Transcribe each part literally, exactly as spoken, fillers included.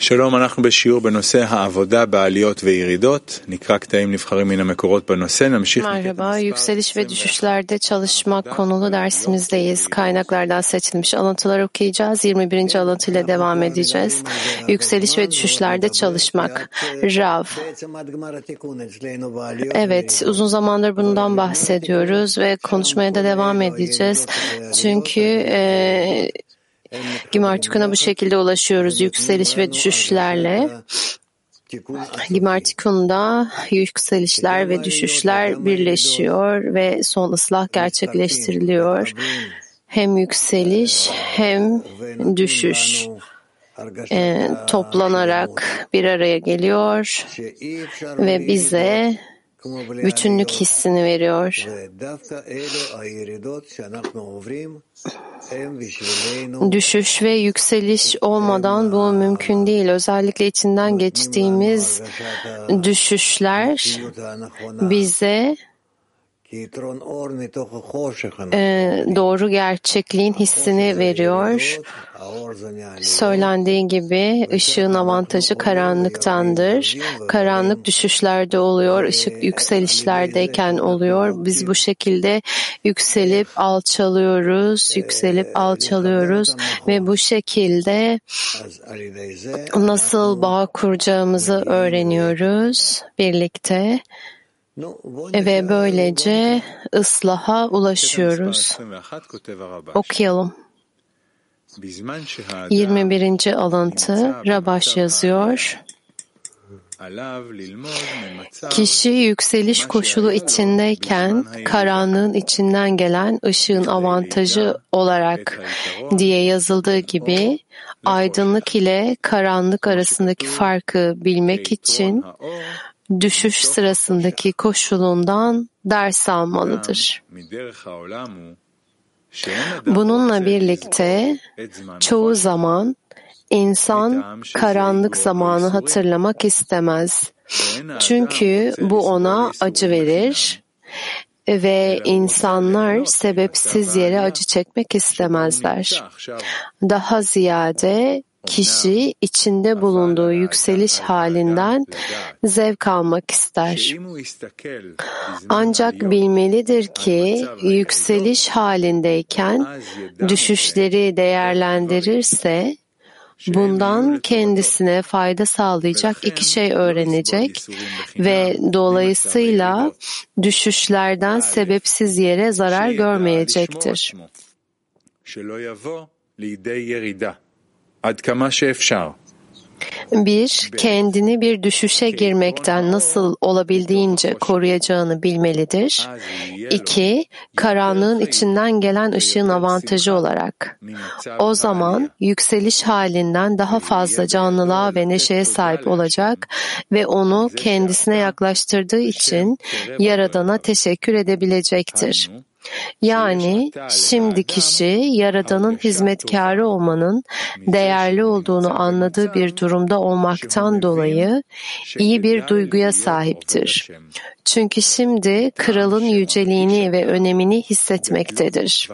שלום, אנחנו בשיעור בנושא העבודה בעליות וירידות. נקרא קטעים נבחרים מן המקורות בנושא. נמשיך. Merhaba, yükseliş ve düşüşlerde çalışmak konulu dersimizdeyiz. Kaynaklardan seçilmiş alıntılar okuyacağız. yirmi birinci alıntıyla devam edeceğiz. Yükseliş ve düşüşlerde çalışmak. Rav. Evet, uzun zamandır bundan bahsediyoruz ve konuşmaya da devam edeceğiz. Çünkü e, Gimartikun'a bu şekilde ulaşıyoruz yükseliş ve düşüşlerle. Gimartikun'da yükselişler ve düşüşler birleşiyor ve son ıslah gerçekleştiriliyor. Hem yükseliş hem düşüş e, toplanarak bir araya geliyor ve bize bütünlük hissini veriyor. Düşüş ve yükseliş olmadan bu mümkün değil. Özellikle içinden geçtiğimiz düşüşler bize e, doğru gerçekliğin hissini veriyor. Söylendiği gibi ışığın avantajı karanlıktandır. Karanlık düşüşlerde oluyor, ışık yükselişlerdeyken oluyor. Biz bu şekilde yükselip alçalıyoruz, yükselip alçalıyoruz ve bu şekilde nasıl bağ kuracağımızı öğreniyoruz birlikte. Ve böylece ıslaha ulaşıyoruz. Okuyalım. yirmi birinci alıntı Rabaş yazıyor. Kişi yükseliş koşulu içindeyken karanlığın içinden gelen ışığın avantajı olarak diye yazıldığı gibi aydınlık ile karanlık arasındaki farkı bilmek için düşüş sırasındaki koşulundan ders almalıdır. Bununla birlikte çoğu zaman insan karanlık zamanı hatırlamak istemez. Çünkü bu ona acı verir ve insanlar sebepsiz yere acı çekmek istemezler. Daha ziyade kişi içinde bulunduğu yükseliş halinden zevk almak ister. Ancak bilmelidir ki yükseliş halindeyken düşüşleri değerlendirirse bundan kendisine fayda sağlayacak iki şey öğrenecek ve dolayısıyla düşüşlerden sebepsiz yere zarar görmeyecektir. Bir, kendini bir düşüşe girmekten nasıl olabildiğince koruyacağını bilmelidir. İki, karanlığın içinden gelen ışığın avantajı olarak. O zaman yükseliş halinden daha fazla canlılığa ve neşeye sahip olacak ve onu kendisine yaklaştırdığı için Yaradan'a teşekkür edebilecektir. Yani şimdi kişi Yaradan'ın hizmetkarı olmanın değerli olduğunu anladığı bir durumda olmaktan dolayı iyi bir duyguya sahiptir. Çünkü şimdi kralın yüceliğini ve önemini hissetmektedir.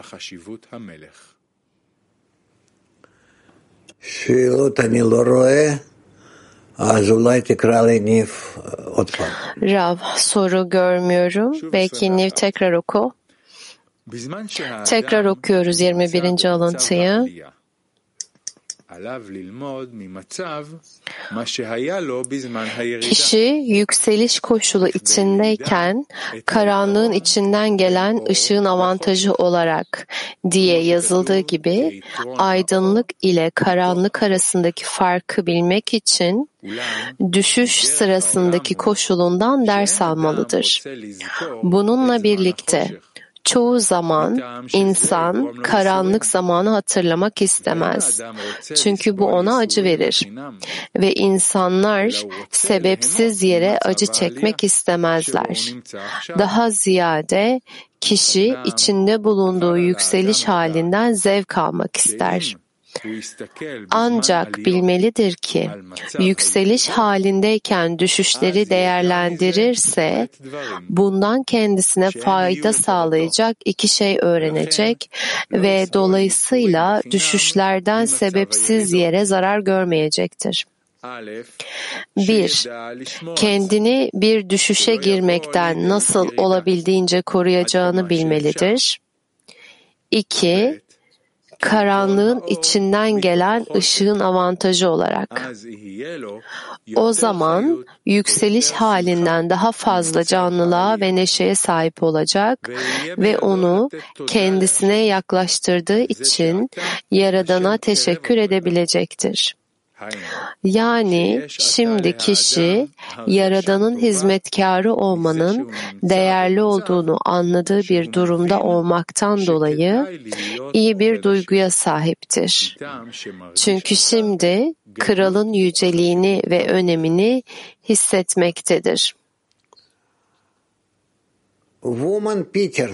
Rav, soru görmüyorum. Belki Niv tekrar oku. Tekrar okuyoruz yirmi birinci alıntıyı. Kişi yükseliş koşulu içindeyken karanlığın içinden gelen ışığın avantajı olarak diye yazıldığı gibi aydınlık ile karanlık arasındaki farkı bilmek için düşüş sırasındaki koşulundan ders almalıdır. Bununla birlikte çoğu zaman insan karanlık zamanı hatırlamak istemez. Çünkü bu ona acı verir. Ve insanlar sebepsiz yere acı çekmek istemezler. Daha ziyade kişi içinde bulunduğu yükseliş halinden zevk almak ister. Ancak bilmelidir ki yükseliş halindeyken düşüşleri değerlendirirse bundan kendisine fayda sağlayacak iki şey öğrenecek ve dolayısıyla düşüşlerden sebepsiz yere zarar görmeyecektir. Bir, kendini bir düşüşe girmekten nasıl olabildiğince koruyacağını bilmelidir. İki, karanlığın içinden gelen ışığın avantajı olarak. O zaman yükseliş halinden daha fazla canlılığa ve neşeye sahip olacak ve onu kendisine yaklaştırdığı için Yaradan'a teşekkür edebilecektir. Yani şimdi kişi Yaradan'ın hizmetkarı olmanın değerli olduğunu anladığı bir durumda olmaktan dolayı iyi bir duyguya sahiptir. Çünkü şimdi kralın yüceliğini ve önemini hissetmektedir. Woman Peter.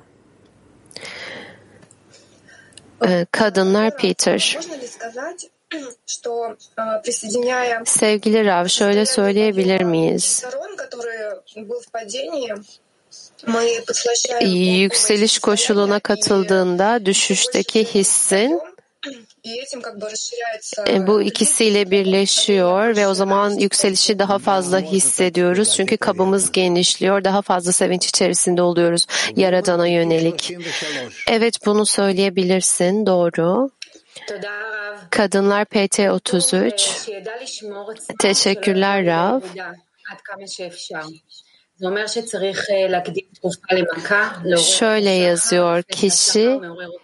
Kadınlar Peter. Sevgili Rav, şöyle söyleyebilir miyiz? Yükseliş koşuluna katıldığında düşüşteki hissin bu ikisiyle birleşiyor ve o zaman yükselişi daha fazla hissediyoruz. Çünkü kabımız genişliyor, daha fazla sevinç içerisinde oluyoruz Yaradan'a yönelik. Evet, bunu söyleyebilirsin, doğru. Kadınlar P T otuz üç. Teşekkürler Rav. Şöyle yazıyor kişi,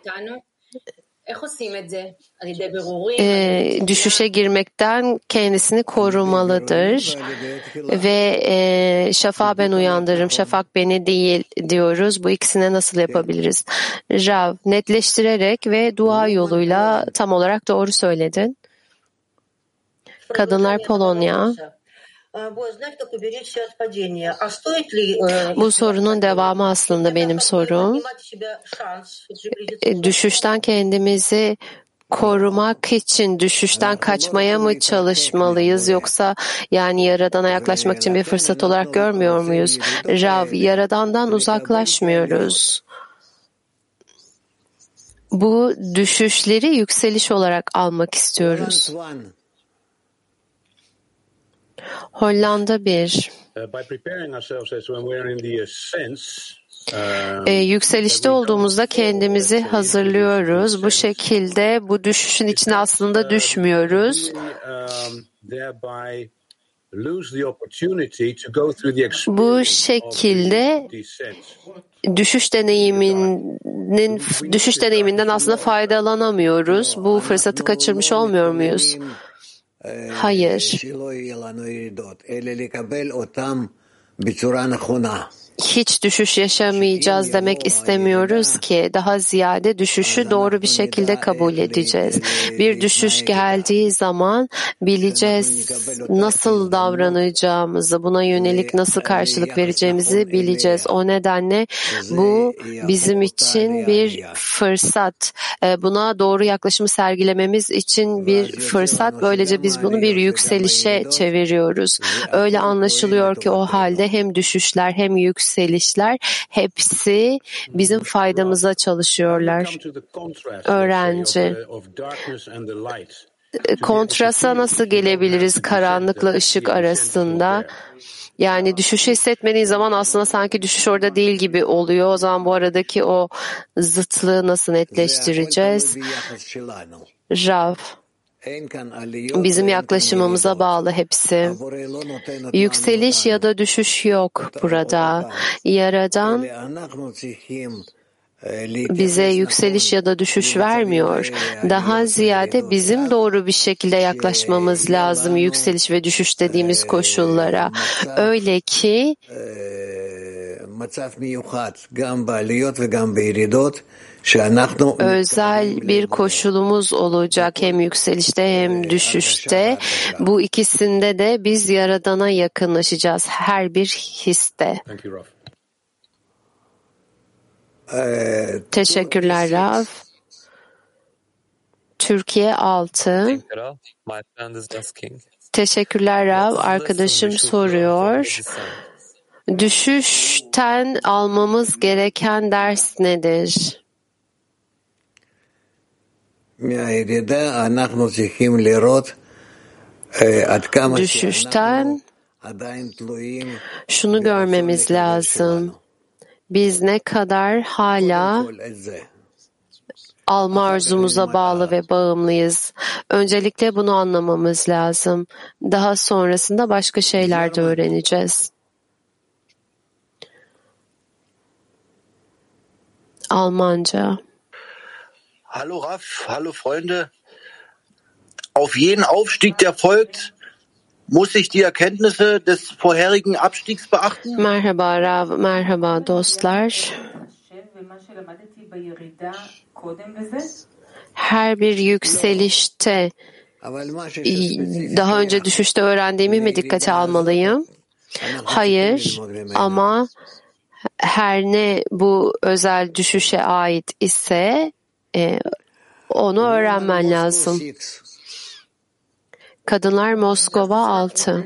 e, düşüşe girmekten kendisini korumalıdır ve e, şafağı ben uyandırırım, şafak beni değil diyoruz. Bu ikisine nasıl yapabiliriz? Rav, netleştirerek ve dua yoluyla tam olarak doğru söyledin. Kadınlar Polonya. Bu sorunun devamı aslında benim sorum. Düşüşten kendimizi korumak için düşüşten kaçmaya mı çalışmalıyız, yoksa yani Yaradan'a yaklaşmak için bir fırsat olarak görmüyor muyuz? Rav, Yaradan'dan uzaklaşmıyoruz. Bu düşüşleri yükseliş olarak almak istiyoruz. Hollanda bir. Ee, yükselişte olduğumuzda kendimizi hazırlıyoruz. Bu şekilde bu düşüşün içine aslında düşmüyoruz. Bu şekilde düşüş deneyiminin düşüş deneyiminden aslında faydalanamıyoruz. Bu fırsatı kaçırmış olmuyor muyuz? Hayır. Hiç düşüş yaşamayacağız demek istemiyoruz ki, daha ziyade düşüşü doğru bir şekilde kabul edeceğiz. Bir düşüş geldiği zaman bileceğiz nasıl davranacağımızı, buna yönelik nasıl karşılık vereceğimizi bileceğiz. O nedenle bu bizim için bir fırsat. Buna doğru yaklaşımı sergilememiz için bir fırsat. Böylece biz bunu bir yükselişe çeviriyoruz. Öyle anlaşılıyor ki o halde hem düşüşler hem yükselişler Yükselişler hepsi bizim faydamıza çalışıyorlar. Öğrenci. Kontrasta nasıl gelebiliriz karanlıkla ışık arasında? Yani düşüşü hissetmediğin zaman aslında sanki düşüş orada değil gibi oluyor. O zaman bu aradaki o zıtlığı nasıl netleştireceğiz? Rav. Bizim yaklaşımımıza bağlı hepsi. Yükseliş ya da düşüş yok burada. Yaradan bize yükseliş ya da düşüş vermiyor. Daha ziyade bizim doğru bir şekilde yaklaşmamız lazım yükseliş ve düşüş dediğimiz koşullara. Öyle ki özel bir koşulumuz olacak hem yükselişte hem düşüşte. Bu ikisinde de biz Yaradan'a yakınlaşacağız her bir histe. Teşekkürler Rav. Türkiye altı. Teşekkürler Rav. Arkadaşım soruyor. Düşüşten almamız gereken ders nedir? düşüşten şunu görmemiz lazım. Biz ne kadar hala alma arzumuza bağlı ve bağımlıyız. Öncelikle bunu anlamamız lazım. Daha sonrasında başka şeyler de öğreneceğiz. Almanca. Hallo Raf, hallo Freunde. Auf jeden Aufstieg, der folgt, muss ich die Erkenntnisse des vorherigen Abstiegs beachten? Merhaba Rav, merhaba dostlar. Her bir yükselişte daha önce düşüşte öğrendiğimi mi dikkate almalıyım? Hayır, ama her ne bu özel düşüşe ait ise e, onu öğrenmen lazım. Kadınlar Moskova altı.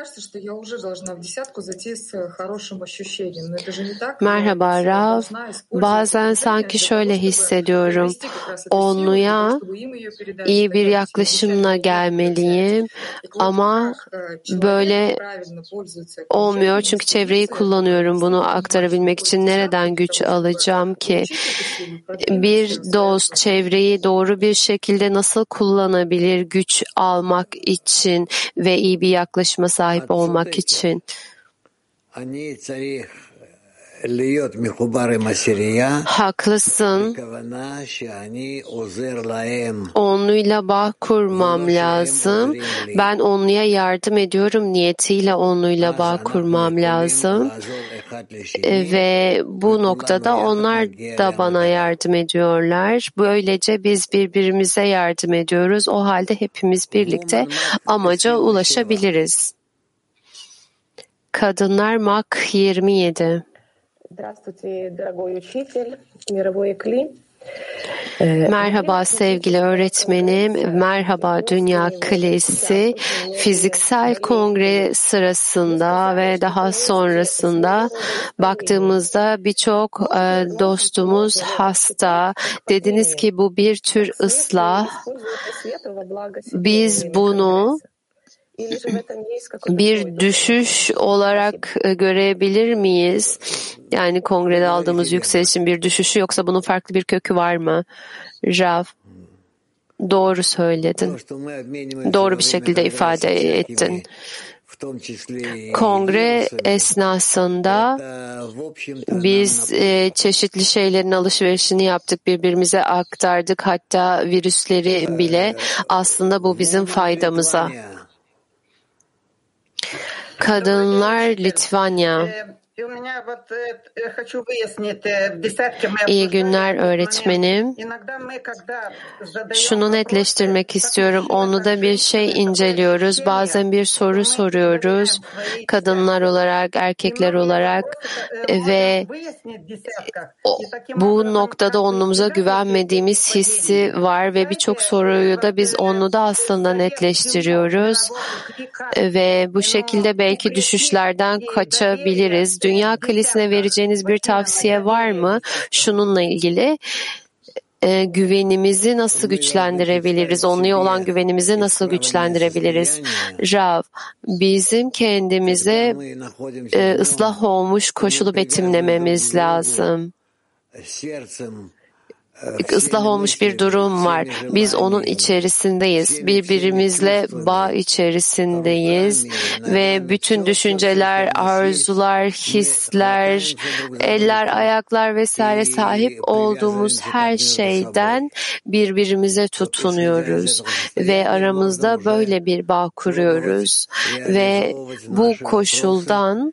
Merhaba Rav. Bazen sanki şöyle hissediyorum. Onluya iyi bir yaklaşımla gelmeliyim ama böyle olmuyor çünkü çevreyi kullanıyorum. Bunu aktarabilmek için nereden güç alacağım ki? Bir dost çevreyi doğru bir şekilde nasıl kullanabilir güç almak için ve iyi bir yaklaşıma sahip olmak için? Haklısın. Onluyla bağ kurmam lazım. Ben onluya yardım ediyorum niyetiyle onluyla bağ kurmam lazım. Ve bu noktada onlar da bana yardım ediyorlar. Böylece biz birbirimize yardım ediyoruz. O halde hepimiz birlikte amaca ulaşabiliriz. Kadınlar Mak yirmi yedi. Merhaba sevgili öğretmenim, merhaba Dünya Klisi. Fiziksel kongre sırasında ve daha sonrasında baktığımızda birçok dostumuz hasta. Dediniz ki bu bir tür ıslah. Biz bunu bir düşüş olarak görebilir miyiz? Yani kongrede aldığımız yükselişin bir düşüşü yoksa bunun farklı bir kökü var mı? Rav, doğru söyledin. Doğru bir şekilde ifade ettin. Kongre esnasında biz e, çeşitli şeylerin alışverişini yaptık, birbirimize aktardık, hatta virüsleri bile. Aslında bu bizim faydamıza. Kadınlar Litvanya. İyi günler öğretmenim. Şunu netleştirmek istiyorum. Onu da bir şey inceliyoruz. Bazen bir soru soruyoruz. Kadınlar olarak, erkekler olarak ve o, bu noktada onluğumuza güvenmediğimiz hissi var ve birçok soruyu da biz onu da aslında netleştiriyoruz. Ve bu şekilde belki düşüşlerden kaçabiliriz. Dünya Kilisine vereceğiniz bir tavsiye var mı? Şununla ilgili e, güvenimizi nasıl güçlendirebiliriz? Onluya olan güvenimizi nasıl güçlendirebiliriz? Rav, bizim kendimize e, ıslah olmuş koşulu betimlememiz lazım. Islah olmuş bir durum var. Biz onun içerisindeyiz. Birbirimizle bağ içerisindeyiz ve bütün düşünceler, arzular, hisler, eller, ayaklar vesaire sahip olduğumuz her şeyden birbirimize tutunuyoruz ve aramızda böyle bir bağ kuruyoruz ve bu koşuldan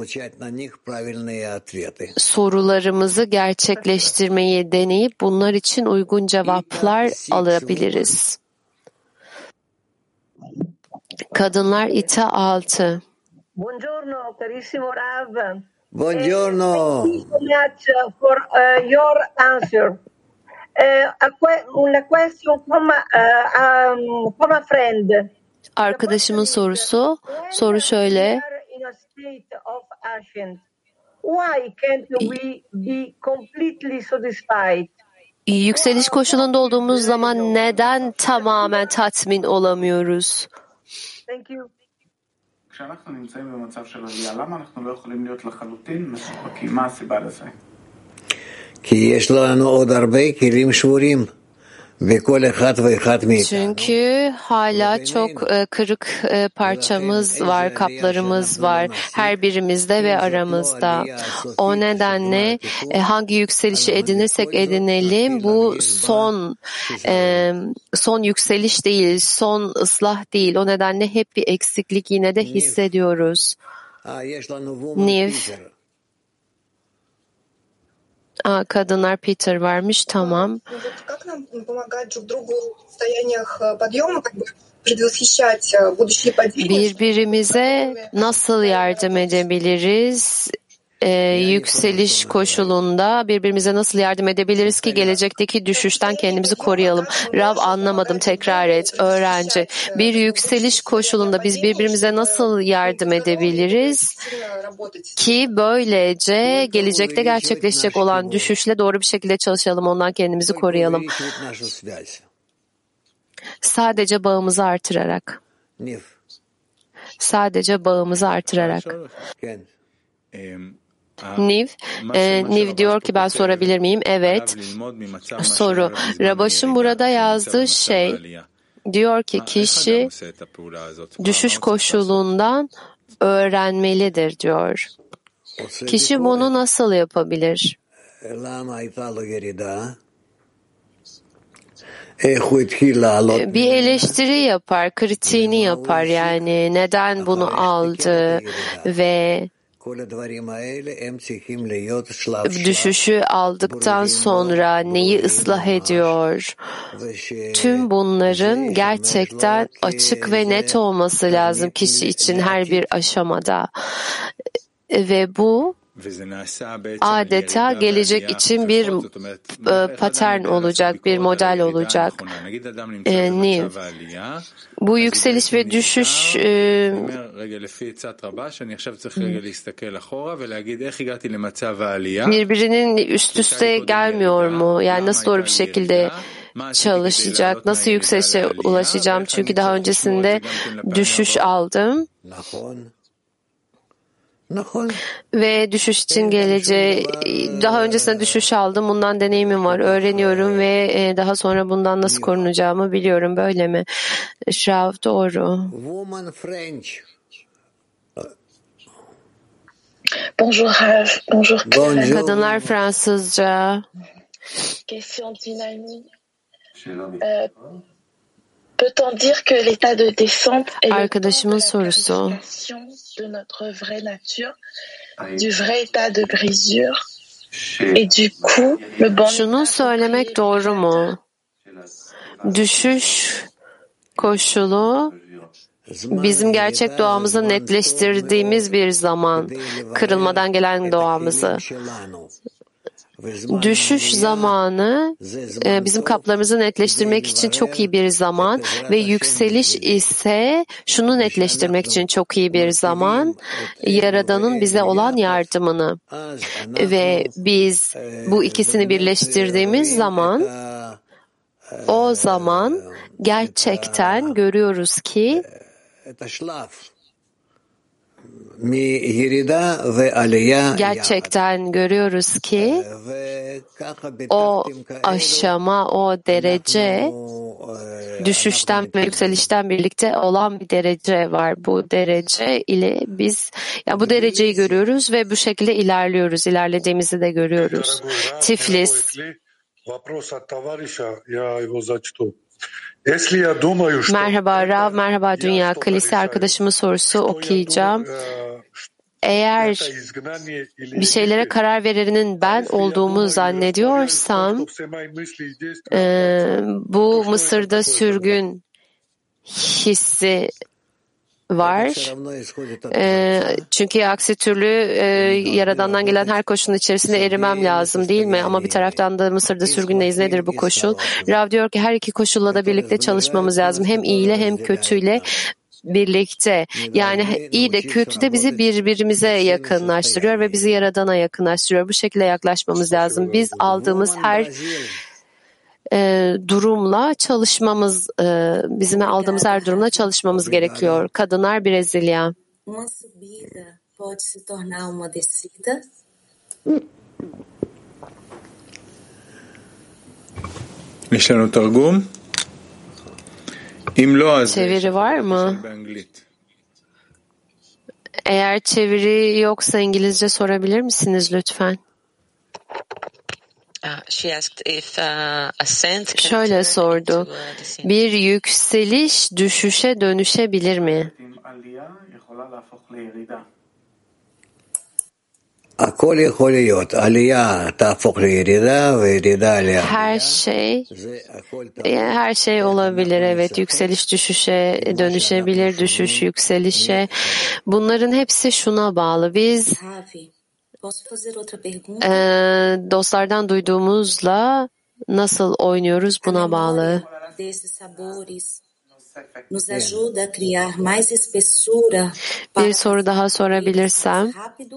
sorularımızı gerçekleştirmeyi deneyip bunlar için uygun cevaplar alabiliriz. Kadınlar İta altı. Buongiorno carissimo Rav. Buongiorno. Thank you so much for uh, your answer. Uh, una question from, uh, um, from a friend. Arkadaşımın sorusu, soru şöyle. Why can't we be completely satisfied? Yükseliş koşulunda olduğumuz zaman neden tamamen tatmin olamıyoruz? Thank you. כשאנחנו נמצאים במצב של עלייה, למה אנחנו לא יכולים להיות לחלוטין מסופקים? מה הסיבה לזה? כי יש לנו עוד הרבה כלים שבורים. Çünkü hala çok e, kırık e, parçamız var, kaplarımız var her birimizde ve aramızda. O nedenle e, hangi yükselişi edinirsek edinelim bu son e, son yükseliş değil, son ıslah değil. O nedenle hep bir eksiklik yine de hissediyoruz. Niv. Aa, kadınlar Peter varmış, tamam. Birbirimize nasıl yardım edebiliriz? Ee, yükseliş koşulunda birbirimize nasıl yardım edebiliriz ki gelecekteki düşüşten kendimizi koruyalım? Rav, anlamadım, tekrar et. Öğrenci, bir yükseliş koşulunda biz birbirimize nasıl yardım edebiliriz ki böylece gelecekte gerçekleşecek olan düşüşle doğru bir şekilde çalışalım, ondan kendimizi koruyalım? Sadece bağımızı artırarak. Sadece bağımızı artırarak. Niv, e, Niv diyor ki ben sorabilir miyim? Evet. Soru. Rabaş'ın burada yazdığı şey diyor ki kişi düşüş koşulundan öğrenmelidir diyor. Kişi bunu nasıl yapabilir? Bir eleştiri yapar, kritiğini yapar, yani neden bunu aldı ve düşüşü aldıktan sonra neyi ıslah ediyor? Tüm bunların gerçekten açık ve net olması lazım kişi için her bir aşamada. Ve bu adeta gelecek için bir e, patern olacak, bir model olacak. E, Niv. Bu yükseliş ve düşüş e, birbirinin üst üste gelmiyor mu? Yani nasıl doğru bir şekilde çalışacak? Nasıl yükselişe ulaşacağım? Çünkü daha öncesinde düşüş aldım. Ve düşüş için geleceği, daha öncesinde düşüş aldım, bundan deneyimim var, öğreniyorum ve daha sonra bundan nasıl korunacağımı biliyorum, böyle mi? Şrav, doğru. Bonjour, bonjour. Kadınlar Fransızca. Question dynamique. Euh, Peut-on dire que l'état de descente est Arkadaşımın sorusu. de notre vraie nature, du vrai état de brisure et du coup le bon. Şunu söylemek doğru mu? Düşüş koşulu bizim gerçek doğamızı netleştirdiğimiz bir zaman, kırılmadan gelen doğamızı. Düşüş zamanı bizim kaplarımızı netleştirmek için çok iyi bir zaman ve yükseliş ise şunu netleştirmek için çok iyi bir zaman, Yaradan'ın bize olan yardımını. Ve biz bu ikisini birleştirdiğimiz zaman, o zaman gerçekten görüyoruz ki gerçekten görüyoruz ki o aşama, o derece düşüşten ve yükselişten birlikte olan bir derece var. Bu derece ile biz, ya bu dereceyi görüyoruz ve bu şekilde ilerliyoruz. İlerlediğimizi de görüyoruz. Tiflis. Merhaba Rav, merhaba Dünya. Kalisi arkadaşımın sorusu okuyacağım. Eğer bir şeylere karar verenin ben olduğumu zannediyorsam, e, bu Mısır'da sürgün hissi var. E, çünkü aksi türlü e, Yaradan'dan gelen her koşulun içerisinde erimem lazım, değil mi? Ama bir taraftan da Mısır'da sürgündeyiz. Nedir bu koşul? Rav diyor ki her iki koşulla da birlikte çalışmamız lazım. Hem iyiyle hem kötüyle birlikte. Yani iyi de kötü de bizi birbirimize yakınlaştırıyor ve bizi Yaradan'a yakınlaştırıyor. Bu şekilde yaklaşmamız lazım. Biz aldığımız her e, durumla çalışmamız, e, bizim aldığımız her durumla çalışmamız gerekiyor. Kadınlar Brezilya. Uma subida pode se tornar uma descida? יש לנו תרגום? אם לא, אז Çeviri var mı? Eğer çeviri yoksa İngilizce sorabilir misiniz lütfen? Şöyle sordu. Bir yükseliş düşüşe dönüşebilir mi? Her şey her şey olabilir. Evet, yükseliş düşüşe dönüşebilir, düşüş yükselişe. Bunların hepsi şuna bağlı. Biz e, dostlardan duyduğumuzla nasıl oynuyoruz buna bağlı. Bir soru daha sorabilirsem.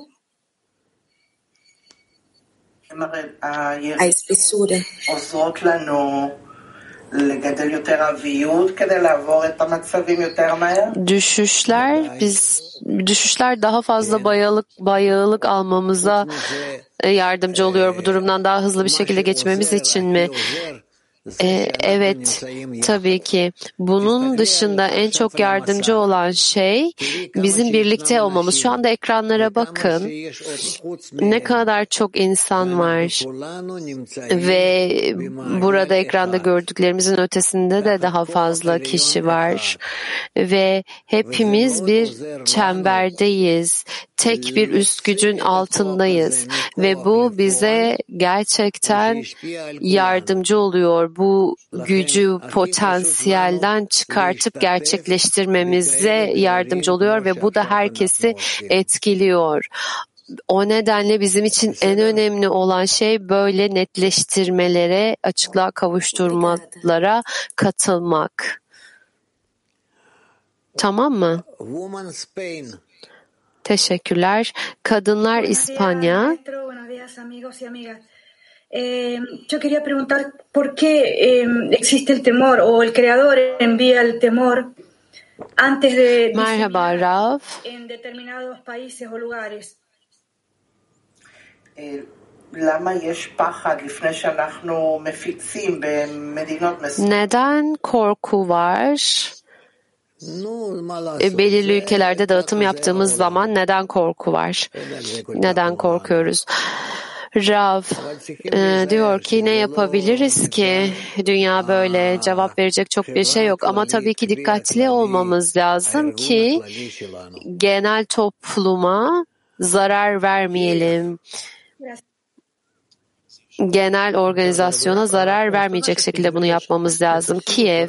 A espessura. עוזרות לנו לגדל יותר אביות כדי לעבור את המצבים יותר מהר? Düşüşler biz düşüşler daha fazla bayağılık bayağılık almamıza yardımcı oluyor, bu durumdan daha hızlı bir şekilde geçmemiz için mi? Ee, evet, tabii ki. Bunun dışında en çok yardımcı olan şey bizim birlikte olmamız. Şu anda ekranlara bakın. Ne kadar çok insan var. Ve burada ekranda gördüklerimizin ötesinde de daha fazla kişi var. Ve hepimiz bir çemberdeyiz. Tek bir üst gücün altındayız. Ve bu bize gerçekten yardımcı oluyor. Bu gücü potansiyelden çıkartıp gerçekleştirmemize yardımcı oluyor ve bu da herkesi etkiliyor. O nedenle bizim için en önemli olan şey böyle netleştirmelere, açıklığa kavuşturmalara katılmak. Tamam mı? Teşekkürler. Kadınlar İspanya. Eh, yo quería preguntar por qué eh, existe el temor o el creador envía el temor antes de Merhaba Rav. en determinados países o lugares. למה יש פחד לפני שאנחנו מפיצים במדינות מסוימות? Neden korku var? E, belirli ülkelerde dağıtım yaptığımız zaman neden korku var? Neden korkuyoruz? Rav e, diyor ki ne yapabiliriz ki? Dünya böyle, cevap verecek çok bir şey yok. Ama tabii ki dikkatli olmamız lazım ki genel topluma zarar vermeyelim. Genel organizasyona zarar vermeyecek şekilde bunu yapmamız lazım. Kiev.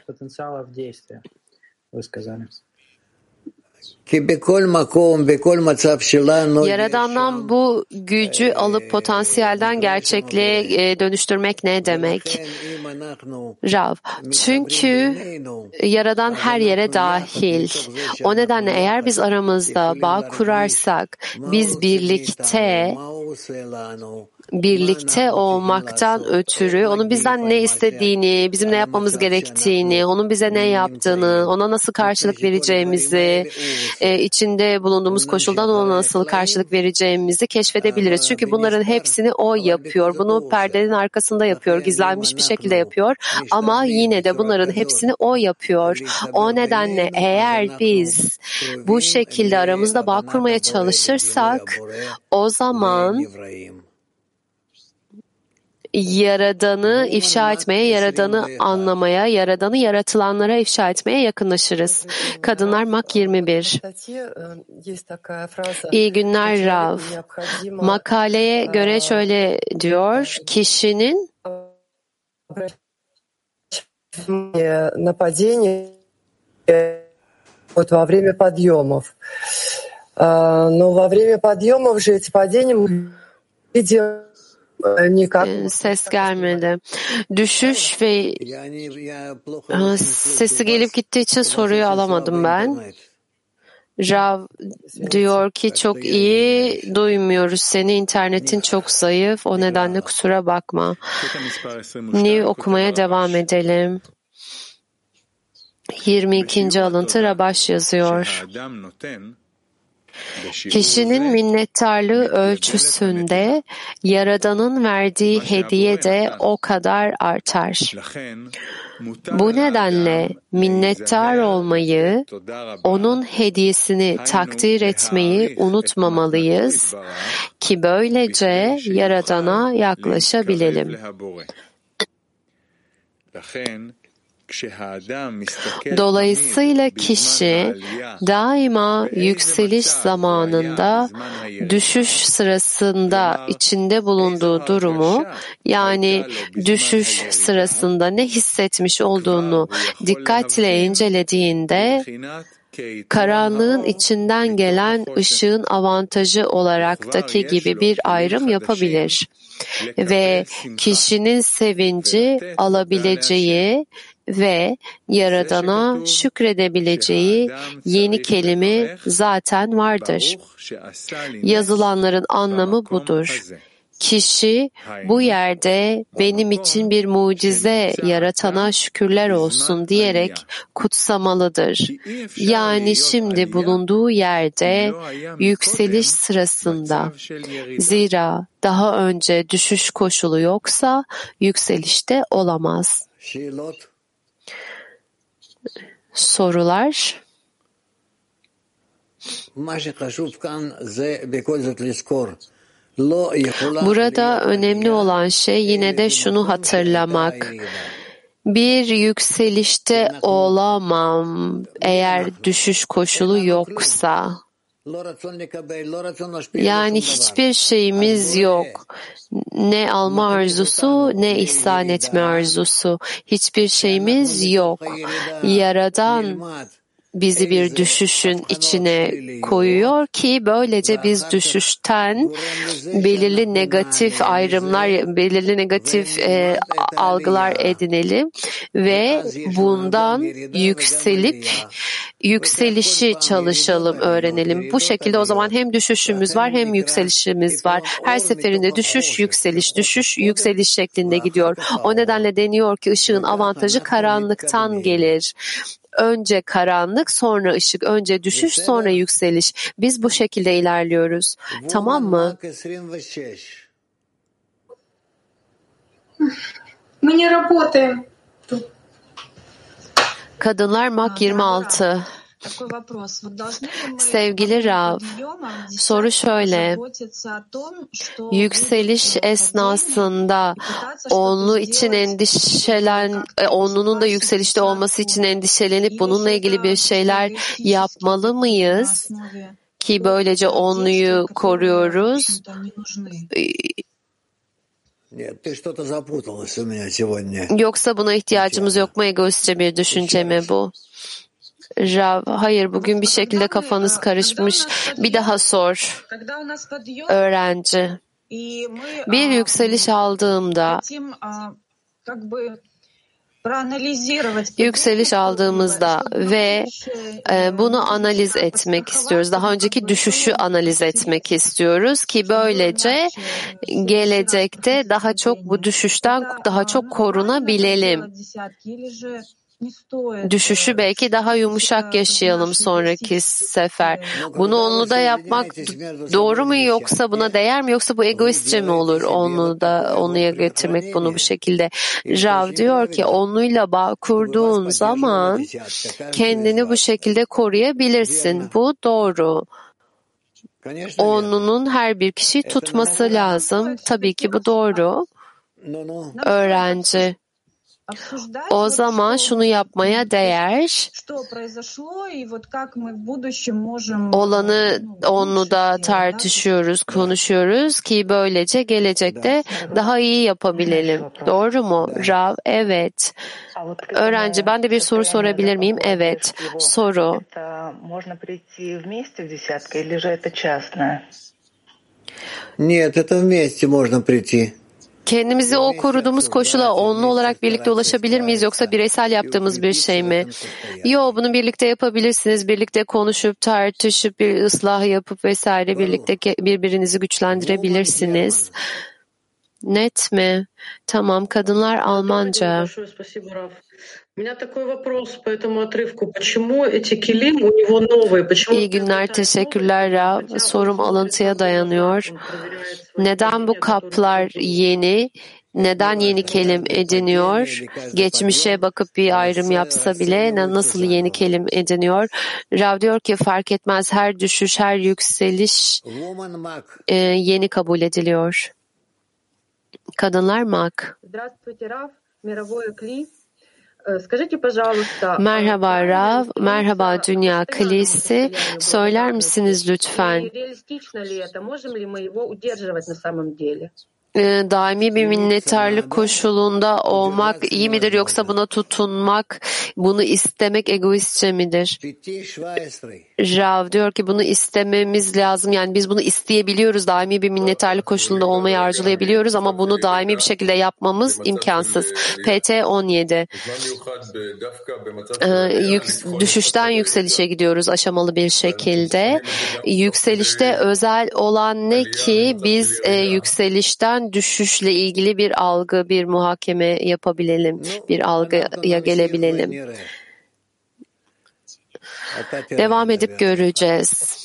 Yaradan'dan bu gücü alıp potansiyelden gerçekliğe dönüştürmek ne demek? Rav, çünkü Yaradan her yere dahil. O nedenle eğer biz aramızda bağ kurarsak, biz birlikte birlikte olmaktan ötürü onun bizden ne istediğini, bizim ne yapmamız gerektiğini, onun bize ne yaptığını, ona nasıl karşılık vereceğimizi, e, içinde bulunduğumuz koşuldan ona nasıl karşılık vereceğimizi keşfedebiliriz. Çünkü bunların hepsini o yapıyor. Bunu perdenin arkasında yapıyor, gizlenmiş bir şekilde yapıyor. Ama yine de bunların hepsini o yapıyor. O nedenle eğer biz bu şekilde aramızda bağ kurmaya çalışırsak, o zaman Yaradan'ı ifşa etmeye, Yaradan'ı anlamaya, Yaradan'ı yaratılanlara ifşa etmeye yakınlaşırız. Kadınlar Mak yirmi bir. İyi günler Rav. Makaleye göre şöyle diyor, kişinin вот во время подъемов. Но во время подъемов же эти падения мы видим. Ses gelmedi. Düşüş ve sesi gelip gittiği için soruyu alamadım ben. Rav diyor ki çok iyi duymuyoruz seni, internetin çok zayıf, o nedenle kusura bakma. Ni okumaya devam edelim. yirmi ikinci alıntı Rabaş yazıyor. Kişinin minnettarlığı ölçüsünde Yaradan'ın verdiği hediye de o kadar artar. Bu nedenle minnettar olmayı, onun hediyesini takdir etmeyi unutmamalıyız ki böylece Yaradan'a yaklaşabilelim. Dolayısıyla kişi daima yükseliş zamanında düşüş sırasında içinde bulunduğu durumu, yani düşüş sırasında ne hissetmiş olduğunu dikkatle incelediğinde karanlığın içinden gelen ışığın avantajı olaraktaki gibi bir ayrım yapabilir ve kişinin sevinci alabileceği ve Yaradan'a şükredebileceği yeni kelime zaten vardır. Yazılanların anlamı budur. Kişi bu yerde benim için bir mucize yaratana şükürler olsun diyerek kutsamalıdır. Yani şimdi bulunduğu yerde yükseliş sırasında. Zira daha önce düşüş koşulu yoksa yükselişte olamaz. Sorular. Burada önemli olan şey yine de şunu hatırlamak. Bir yükselişte olamam eğer düşüş koşulu yoksa. Yani hiçbir şeyimiz yok. Ne alma arzusu, ne ihsan etme arzusu. Hiçbir şeyimiz yok. Yaradan bizi bir düşüşün içine koyuyor ki böylece biz düşüşten belirli negatif ayrımlar, belirli negatif e, algılar edinelim ve bundan yükselip yükselişi çalışalım, öğrenelim. Bu şekilde o zaman hem düşüşümüz var hem yükselişimiz var. Her seferinde düşüş, yükseliş, düşüş, yükseliş şeklinde gidiyor. O nedenle deniyor ki ışığın avantajı karanlıktan gelir. Önce karanlık, sonra ışık, önce düşüş, sonra yükseliş. Biz bu şekilde ilerliyoruz. Tamam mı? Kadınlar Mak yirmi altı. Sevgili Rav, soru şöyle, yükseliş esnasında onlu için endişelen, onlunun da yükselişte olması için endişelenip bununla ilgili bir şeyler yapmalı mıyız? Ki böylece onluyu koruyoruz. Yoksa buna ihtiyacımız yok mu? Egoistçe bir düşünce mi bu? Rav, hayır, bugün bir şekilde kafanız karışmış. Bir daha sor. Öğrenci. Bir yükseliş aldığımda, yükseliş aldığımızda ve e, bunu analiz etmek istiyoruz. Daha önceki düşüşü analiz etmek istiyoruz ki böylece gelecekte daha çok bu düşüşten daha çok korunabilelim. Düşüşü belki daha yumuşak yaşayalım sonraki sefer. Bunu onluda yapmak doğru mu, yoksa buna değer mi, yoksa bu egoistçe mi olur onlu da onluya getirmek bunu bu şekilde? Rav diyor ki onluyla bağ kurduğun zaman kendini bu şekilde koruyabilirsin. Bu doğru. Onlunun her bir kişiyi tutması lazım. Tabii ki bu doğru. Öğrenci. O zaman şunu yapmaya değer. Olanı onluda tartışıyoruz, konuşuyoruz ki böylece gelecekte daha iyi yapabilelim. Doğru mu? Rav, evet. Öğrenci, ben de bir soru sorabilir miyim? Evet. Soru. Нет, это вместе можно прийти. Kendimizi o koruduğumuz koşula onlu olarak birlikte ulaşabilir miyiz yoksa bireysel yaptığımız bir şey mi? Yok, bunu birlikte yapabilirsiniz. Birlikte konuşup, tartışıp, bir ıslah yapıp vesaire birlikte birbirinizi güçlendirebilirsiniz. Net mi? Tamam, kadınlar Almanca. İyi günler, teşekkürler Rav. Sorum alıntıya dayanıyor. Neden bu kaplar yeni? Neden yeni kelim ediniyor? Geçmişe bakıp bir ayrım yapsa bile nasıl yeni kelim ediniyor? Rav diyor ki fark etmez, her düşüş, her yükseliş e, yeni kabul ediliyor. Kadınlar mak. Merhaba Rav, merhaba Dünya Kilisi. Söyler misiniz lütfen? Daimi bir minnettarlık koşulunda olmak iyi midir yoksa buna tutunmak, bunu istemek egoistçe midir? Rav diyor ki bunu istememiz lazım. Yani biz bunu isteyebiliyoruz. Daimi bir minnettarlık koşulunda olmayı arzulayabiliyoruz ama bunu daimi bir şekilde yapmamız imkansız. P T on yedi. Ee, düşüşten yükselişe gidiyoruz aşamalı bir şekilde. Yükselişte özel olan ne ki biz e, yükselişten düşüşle ilgili bir algı, bir muhakeme yapabilelim, bir algıya gelebilelim. Devam edip göreceğiz.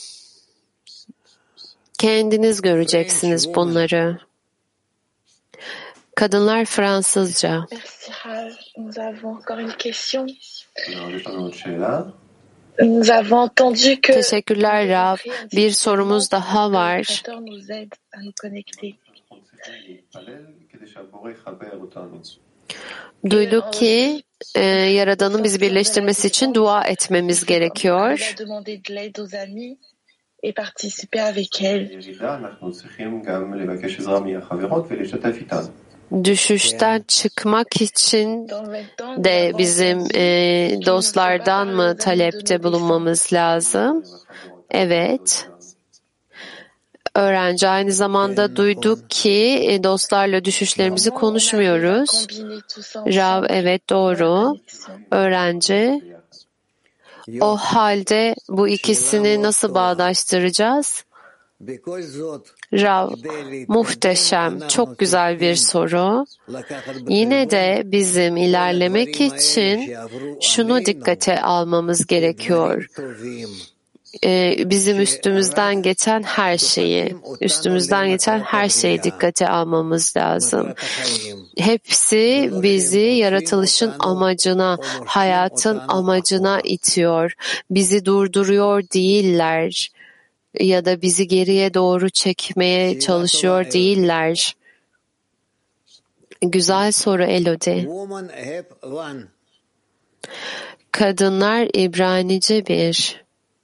Kendiniz göreceksiniz bunları. Kadınlar Fransızca. Teşekkürler Rav. Bir sorumuz daha var. Duyduk ki e, Yaradan'ın bizi birleştirmesi için dua etmemiz gerekiyor. Düşüşten çıkmak için de bizim e, dostlardan mı talepte bulunmamız lazım? Evet. Öğrenci aynı zamanda duyduk ki e, dostlarla düşüşlerimizi konuşmuyoruz. Rav, evet doğru. Öğrenci. O halde bu ikisini nasıl bağdaştıracağız? Rav, muhteşem, çok güzel bir soru. Yine de bizim ilerlemek için şunu dikkate almamız gerekiyor. Ee, bizim üstümüzden geçen her şeyi, üstümüzden geçen her şeyi dikkate almamız lazım. Hepsi bizi yaratılışın amacına, hayatın amacına itiyor. Bizi durduruyor değiller. Ya da bizi geriye doğru çekmeye çalışıyor değiller. Güzel soru Elodie. Kadınlar İbranice bir.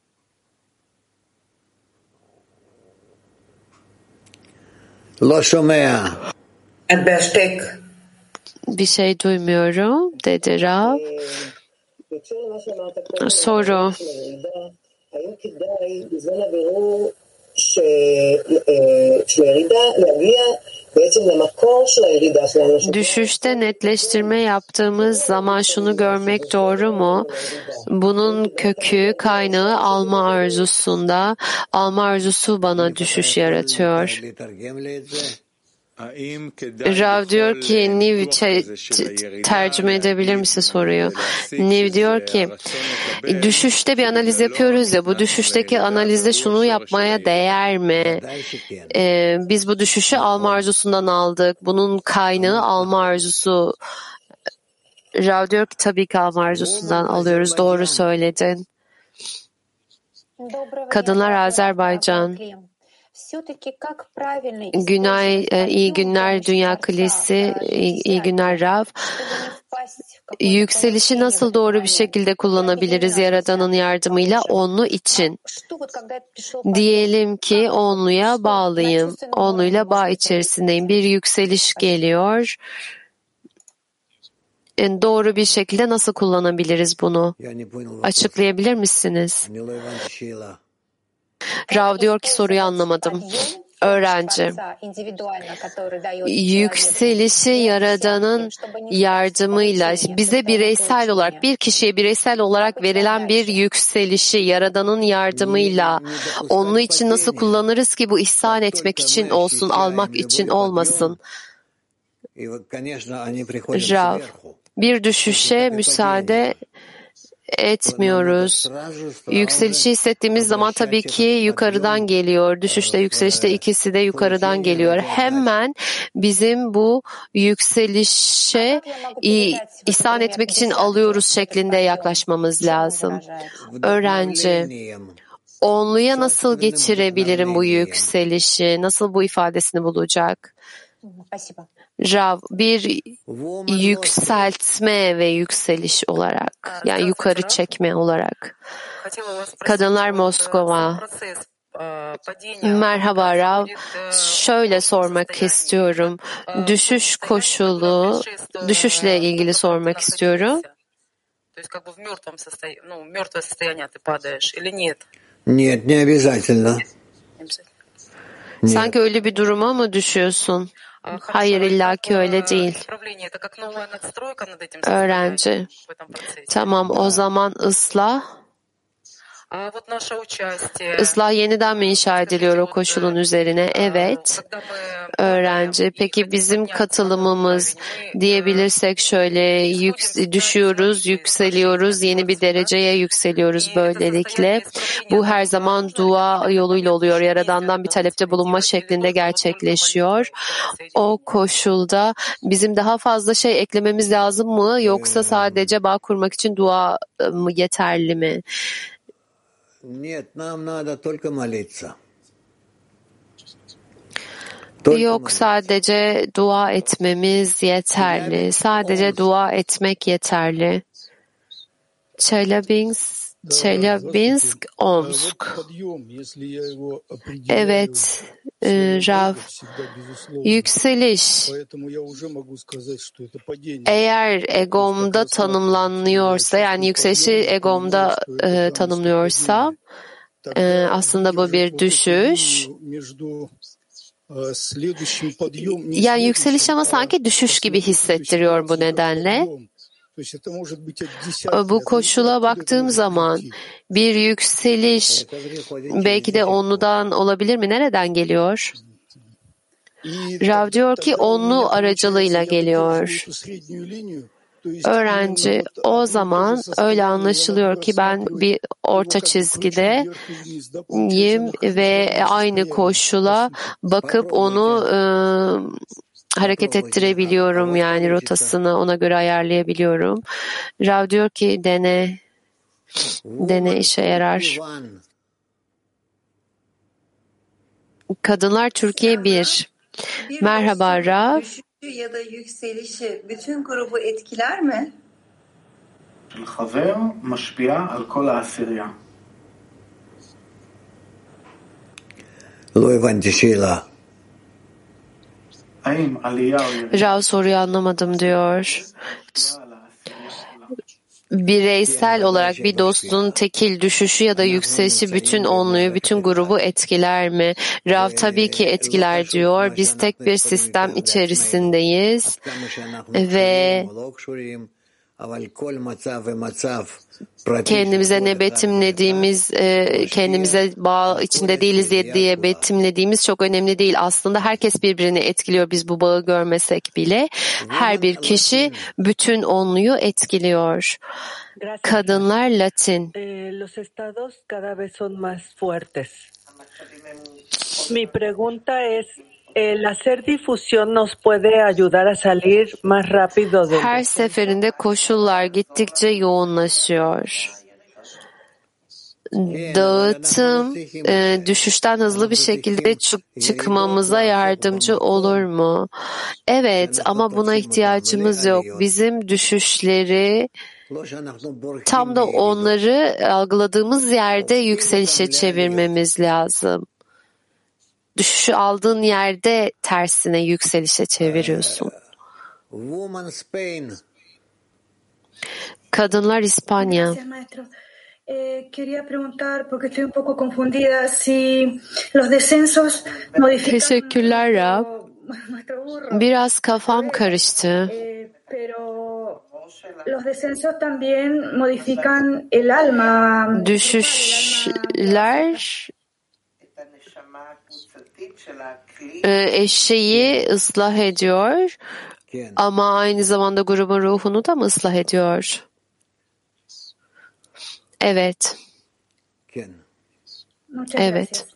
Bir şey duymuyorum dedi Rav. Soru. Düşüşte netleştirme yaptığımız zaman şunu görmek doğru mu? Bunun kökü, kaynağı alma arzusunda. Alma arzusu bana düşüş yaratıyor. Rav diyor ki, Niv tercüme edebilir misin soruyu? Niv diyor ki, düşüşte bir analiz yapıyoruz ya, bu düşüşteki analizde şunu yapmaya değer mi? Ee, biz bu düşüşü alma arzusundan aldık. Bunun kaynağı alma arzusu. Rav diyor ki tabii ki alma arzusundan alıyoruz. Doğru söyledin. Kadınlar Azerbaycan. Günay, iyi günler Dünya Kilisi, iyi günler Rav. Yükselişi nasıl doğru bir şekilde kullanabiliriz Yaradan'ın yardımıyla onlu için? Diyelim ki onluya bağlıyım, onluyla bağ içerisindeyim. Bir yükseliş geliyor. Doğru bir şekilde nasıl kullanabiliriz bunu? Açıklayabilir misiniz? Rav diyor ki soruyu anlamadım. Öğrenci, yükselişi Yaradan'ın yardımıyla bize bireysel olarak, bir kişiye bireysel olarak verilen bir yükselişi Yaradan'ın yardımıyla onun için nasıl kullanırız ki bu ihsan etmek için olsun, almak için olmasın? Rav, bir düşüşe müsaade etmiyoruz. Yükselişi hissettiğimiz zaman tabii ki yukarıdan geliyor. Düşüşte, yükselişte ikisi de yukarıdan geliyor. Hemen bizim bu yükselişe ihsan etmek için alıyoruz şeklinde yaklaşmamız lazım. Öğrenci, onluya nasıl geçirebilirim bu yükselişi? Nasıl bu ifadesini bulacak? Rav, bir yükseltme ve yükseliş olarak, yani yukarı çekme olarak. Kadınlar Moskova. Merhaba Rav, şöyle sormak istiyorum. Düşüş koşulu, düşüşle ilgili sormak istiyorum. Нет, не обязательно. Sanki öyle bir duruma mı düşüyorsun? Hayır, illaki öyle değil. Öğrenci. Tamam, o zaman ıslah. Islah yeniden mi inşa ediliyor o koşulun üzerine? Evet. Öğrenci. Peki bizim katılımımız, diyebilirsek şöyle, yük, düşüyoruz, yükseliyoruz, yeni bir dereceye yükseliyoruz böylelikle. Bu her zaman dua yoluyla oluyor. Yaradan'dan bir talepte bulunma şeklinde gerçekleşiyor. O koşulda bizim daha fazla şey eklememiz lazım mı? Yoksa sadece bağ kurmak için dua mı yeterli mi? Нет, нам надо только молиться. Yok, sadece dua etmemiz yeterli. Sadece dua etmek yeterli. Çelabinsk, Çelabinsk, Omsk. Evet, e, Rav. Yükseliş. Eğer egomda tanımlanıyorsa, yani yükselişi egomda e, tanımlıyorsa, e, aslında bu bir düşüş. Yani yükseliş ama sanki düşüş gibi hissettiriyor bu nedenle. Bu koşula baktığım zaman bir yükseliş belki de onludan olabilir mi? Nereden geliyor? Rav diyor ki onlu aracılığıyla geliyor. Öğrenci, o zaman öyle anlaşılıyor ki ben bir orta çizgideyim ve aynı koşula bakıp onu e, hareket ettirebiliyorum, yani rotasını ona göre ayarlayabiliyorum. Rav diyor ki dene, dene işe yarar. Kadınlar Türkiye bir. Merhaba Rav. Ya da yükselişi bütün grubu etkiler mi? Rav soruyu anlamadım diyor. Bireysel olarak bir dostun tekil düşüşü ya da yükselişi bütün onluyu, bütün grubu etkiler mi? Rav tabii ki etkiler diyor. Biz tek bir sistem içerisindeyiz ve kendimize ne betimlediğimiz, kendimize bağ içinde değiliz diye betimlediğimiz çok önemli değil. Aslında herkes birbirini etkiliyor. Biz bu bağı görmesek bile her bir kişi bütün onluyu etkiliyor. Kadınlar Latin. Los estados cada vez son más fuertes. Mi pregunta es, el hacer difusión nos puede ayudar a salir más rápido del. Her seferinde koşullar gittikçe yoğunlaşıyor. Dağıtım e, düşüşten hızlı bir şekilde çık- çıkmamıza yardımcı olur mu? Evet, ama buna ihtiyacımız yok. Bizim düşüşleri tam da onları algıladığımız yerde yükselişe çevirmemiz lazım. Düşüşü aldığın yerde tersine yükselişe çeviriyorsun. Kadınlar İspanya. Eh, quería preguntar, porque estoy un poco confundida, si los descensos modifican Teşekkürler Rab. nuestro burro. Biraz kafam karıştı. Eh, pero los descensos también modifican el alma. Düşüşler e, eşeği ıslah ediyor ama aynı zamanda grubun ruhunu da mı ıslah ediyor? Evet. Evet.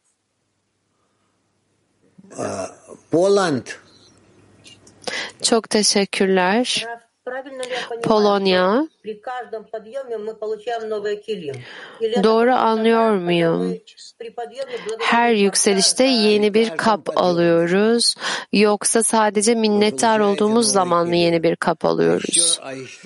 Poland. Çok teşekkürler. Polonya. Doğru anlıyor muyum? Her yükselişte yeni bir kap alıyoruz. Yoksa sadece minnettar olduğumuz zaman mı yeni bir kap alıyoruz?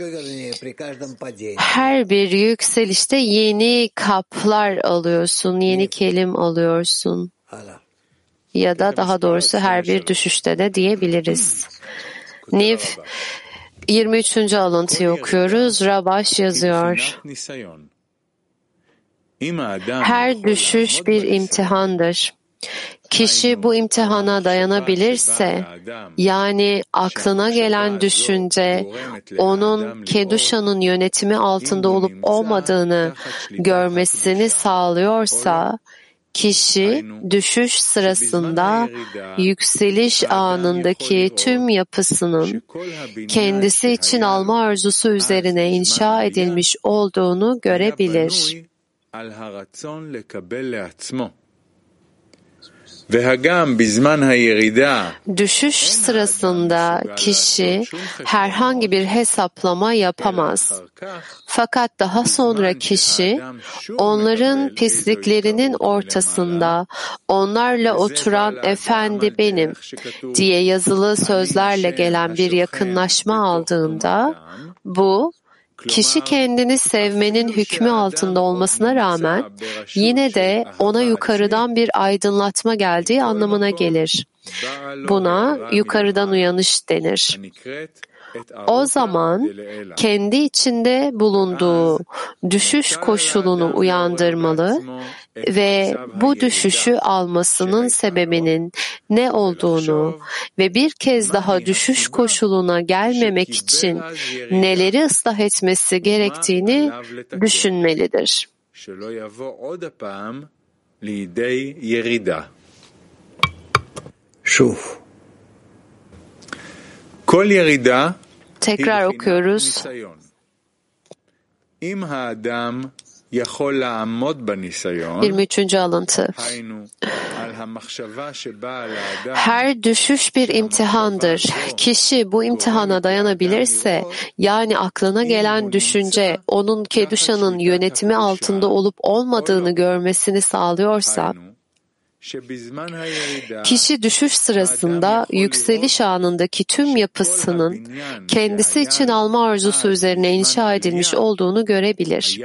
Her bir yükselişte yeni kaplar alıyorsun, yeni kelim alıyorsun. Ya da daha doğrusu her bir düşüşte de diyebiliriz. Niv yirmi üçüncü alıntıyı okuyoruz. Rabaş yazıyor. Her düşüş bir imtihandır. Kişi bu imtihana dayanabilirse, yani aklına gelen düşünce onun Keduşa'nın yönetimi altında olup olmadığını görmesini sağlıyorsa, kişi düşüş sırasında yükseliş anındaki tüm yapısının kendisi için alma arzusu üzerine inşa edilmiş olduğunu görebilir. Düşüş sırasında kişi herhangi bir hesaplama yapamaz. Fakat daha sonra kişi onların pisliklerinin ortasında onlarla oturan efendi benim diye yazılı sözlerle gelen bir yakınlaşma aldığında bu kişi kendini sevmenin hükmü altında olmasına rağmen yine de ona yukarıdan bir aydınlatma geldiği anlamına gelir. Buna yukarıdan uyanış denir. O zaman kendi içinde bulunduğu düşüş koşulunu uyandırmalı ve bu düşüşü almasının sebebinin ne olduğunu ve bir kez daha düşüş koşuluna gelmemek için neleri ıslah etmesi gerektiğini düşünmelidir. Şuf. Kol yerida Tekrar okuyoruz. yirmi üçüncü alıntı. Her düşüş bir imtihandır. Kişi bu imtihana dayanabilirse, yani aklına gelen düşünce onun Keduşa'nın yönetimi altında olup olmadığını görmesini sağlıyorsa, kişi düşüş sırasında yükseliş anındaki tüm yapısının kendisi için alma arzusu üzerine inşa edilmiş olduğunu görebilir.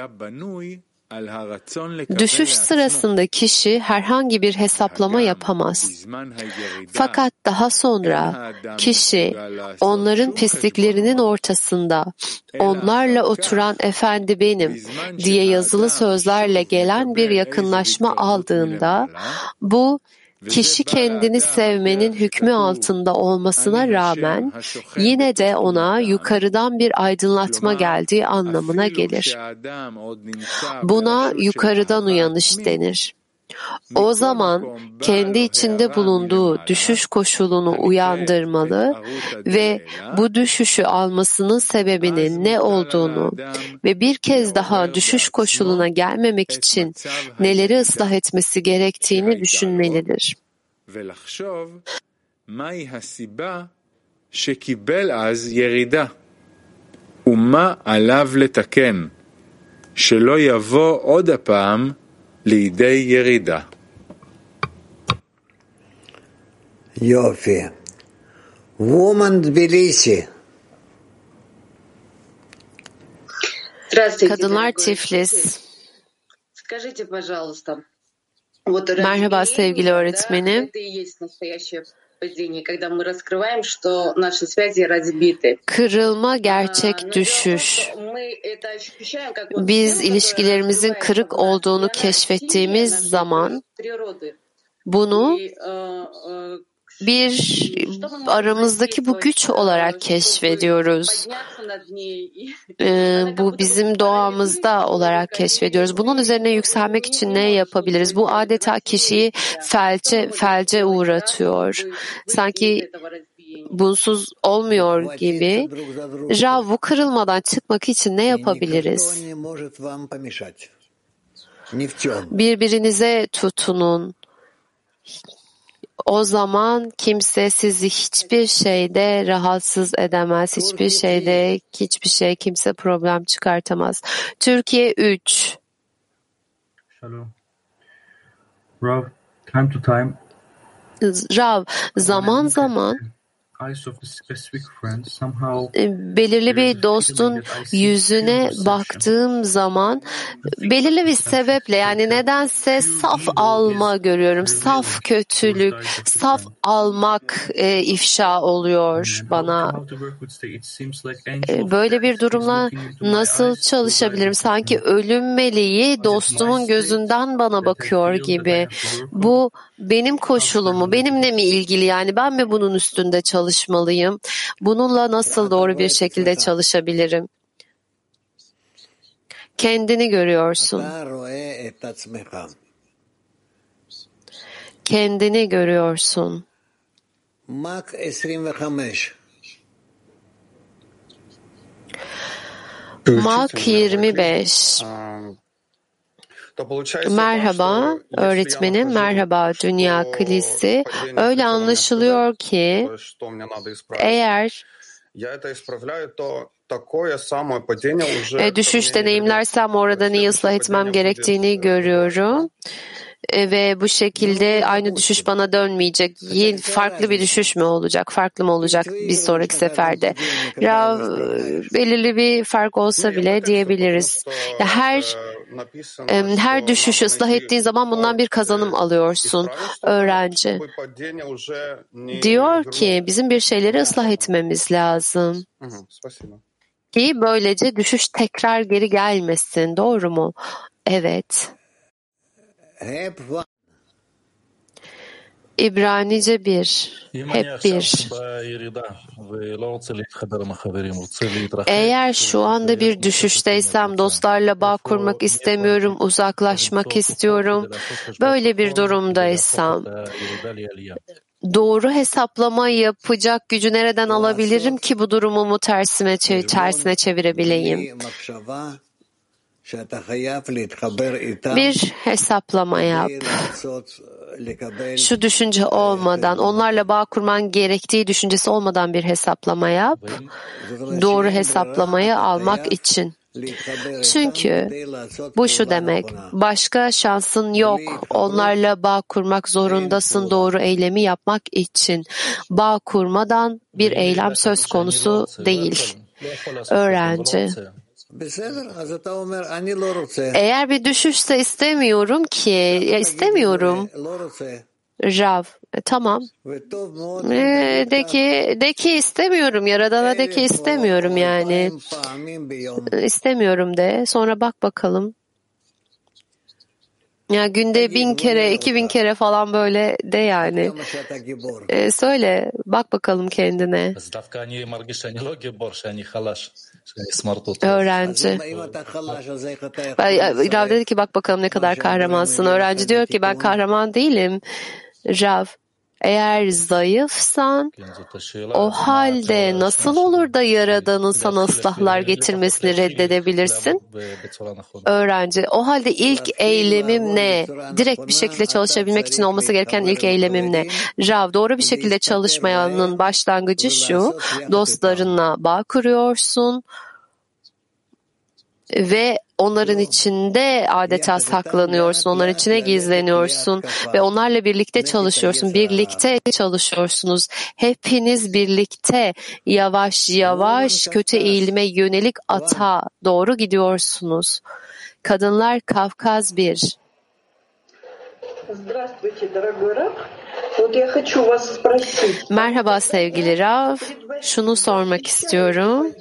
Düşüş sırasında kişi herhangi bir hesaplama yapamaz. Fakat daha sonra kişi onların pisliklerinin ortasında onlarla oturan efendi benim diye yazılı sözlerle gelen bir yakınlaşma aldığında bu kişi kendini sevmenin hükmü altında olmasına rağmen yine de ona yukarıdan bir aydınlatma geldiği anlamına gelir. Buna yukarıdan uyanış denir. O zaman kendi içinde bulunduğu düşüş koşulunu uyandırmalı ve bu düşüşü almasının sebebinin ne olduğunu ve bir kez daha düşüş koşuluna gelmemek için neleri ıslah etmesi gerektiğini düşünmelidir. לידי ירידה. יופי. Woman Tbilisi. Kadınlar Tiflis. Merhaba sevgili öğretmenim. Kırılma gerçek düşüş. Biz ilişkilerimizin kırık olduğunu keşfettiğimiz zaman bunu bir aramızdaki bu güç olarak keşfediyoruz. Ee, bu bizim doğamızda olarak keşfediyoruz. Bunun üzerine yükselmek için ne yapabiliriz? Bu adeta kişiyi felce, felce uğratıyor. Sanki bunsuz olmuyor gibi. Rav, bu kırılmadan çıkmak için ne yapabiliriz? Birbirinize tutunun. O zaman kimse sizi hiçbir şeyde rahatsız edemez. Hiçbir şeyde, hiçbir şey, kimse problem çıkartamaz. Türkiye üç. Shalom. Rav, time to time. Rav, zaman zaman belirli bir dostun yüzüne baktığım zaman belirli bir sebeple, yani nedense saf alma görüyorum. Saf kötülük, saf almak e, ifşa oluyor bana. E, böyle bir durumla nasıl çalışabilirim? Sanki ölüm meleği dostumun gözünden bana bakıyor gibi. Bu benim koşulumu, benimle mi ilgili, yani ben mi bunun üstünde çalışmalıyım? Bununla nasıl doğru bir şekilde çalışabilirim? Kendini görüyorsun. Kendini görüyorsun. Mak yirmi beş. Merhaba öğretmenim, merhaba Dünya Kilisi. Öyle anlaşılıyor ki eğer e, düşüş deneyimlersem orada neyi ıslah etmem gerektiğini görüyorum. E, ve bu şekilde aynı düşüş bana dönmeyecek. Yeni, farklı bir düşüş mü olacak? Farklı mı olacak bir sonraki seferde? Rav, belirli bir fark olsa bile diyebiliriz. Ya her e, her düşüşü ıslah ettiğin zaman bundan bir kazanım alıyorsun. Öğrenci diyor ki bizim bir şeyleri ıslah etmemiz lazım. Ki böylece düşüş tekrar geri gelmesin. Doğru mu? Evet. İbranice bir, hep bir. Eğer şu anda bir düşüşteysem, dostlarla bağ kurmak istemiyorum, uzaklaşmak istiyorum, böyle bir durumdaysam, doğru hesaplama yapacak gücü nereden alabilirim ki bu durumumu tersine, tersine çevirebileyim? Bir hesaplama yap. Şu düşünce olmadan, onlarla bağ kurman gerektiği düşüncesi olmadan bir hesaplama yap. Doğru hesaplamayı almak için. Çünkü bu şu demek, başka şansın yok. Onlarla bağ kurmak zorundasın doğru eylemi yapmak için. Bağ kurmadan bir eylem söz konusu değil. Öğrenci. Eğer bir düşüşse istemiyorum ki, ya istemiyorum. Rav, e, tamam. E, de ki, de ki istemiyorum, Yaradan'a de ki istemiyorum yani. E, istemiyorum de, sonra bak bakalım. Ya günde bin kere, iki bin kere falan böyle de yani. E, söyle, bak bakalım kendine. Öğrenci. Rav dedi ki bak bakalım ne kadar kahramansın. Öğrenci diyor ki ben kahraman değilim. Rav, eğer zayıfsan o halde nasıl olur da Yaradan'ın sana ıslahlar getirmesini reddedebilirsin? Öğrenci, o halde ilk eylemim ne? Direkt bir şekilde çalışabilmek için olması gereken ilk eylemim ne? Rav, doğru bir şekilde çalışmayanın başlangıcı şu, dostlarınla bağ kuruyorsun ve onların içinde adeta saklanıyorsun, onların içine gizleniyorsun ve onlarla birlikte çalışıyorsun, birlikte çalışıyorsunuz. Hepiniz birlikte yavaş yavaş kötü eğilime yönelik ata doğru gidiyorsunuz. Kadınlar Kafkaz bir. Здравствуйте, дорогой Рав. Merhaba sevgili Rav. Şunu sormak istiyorum.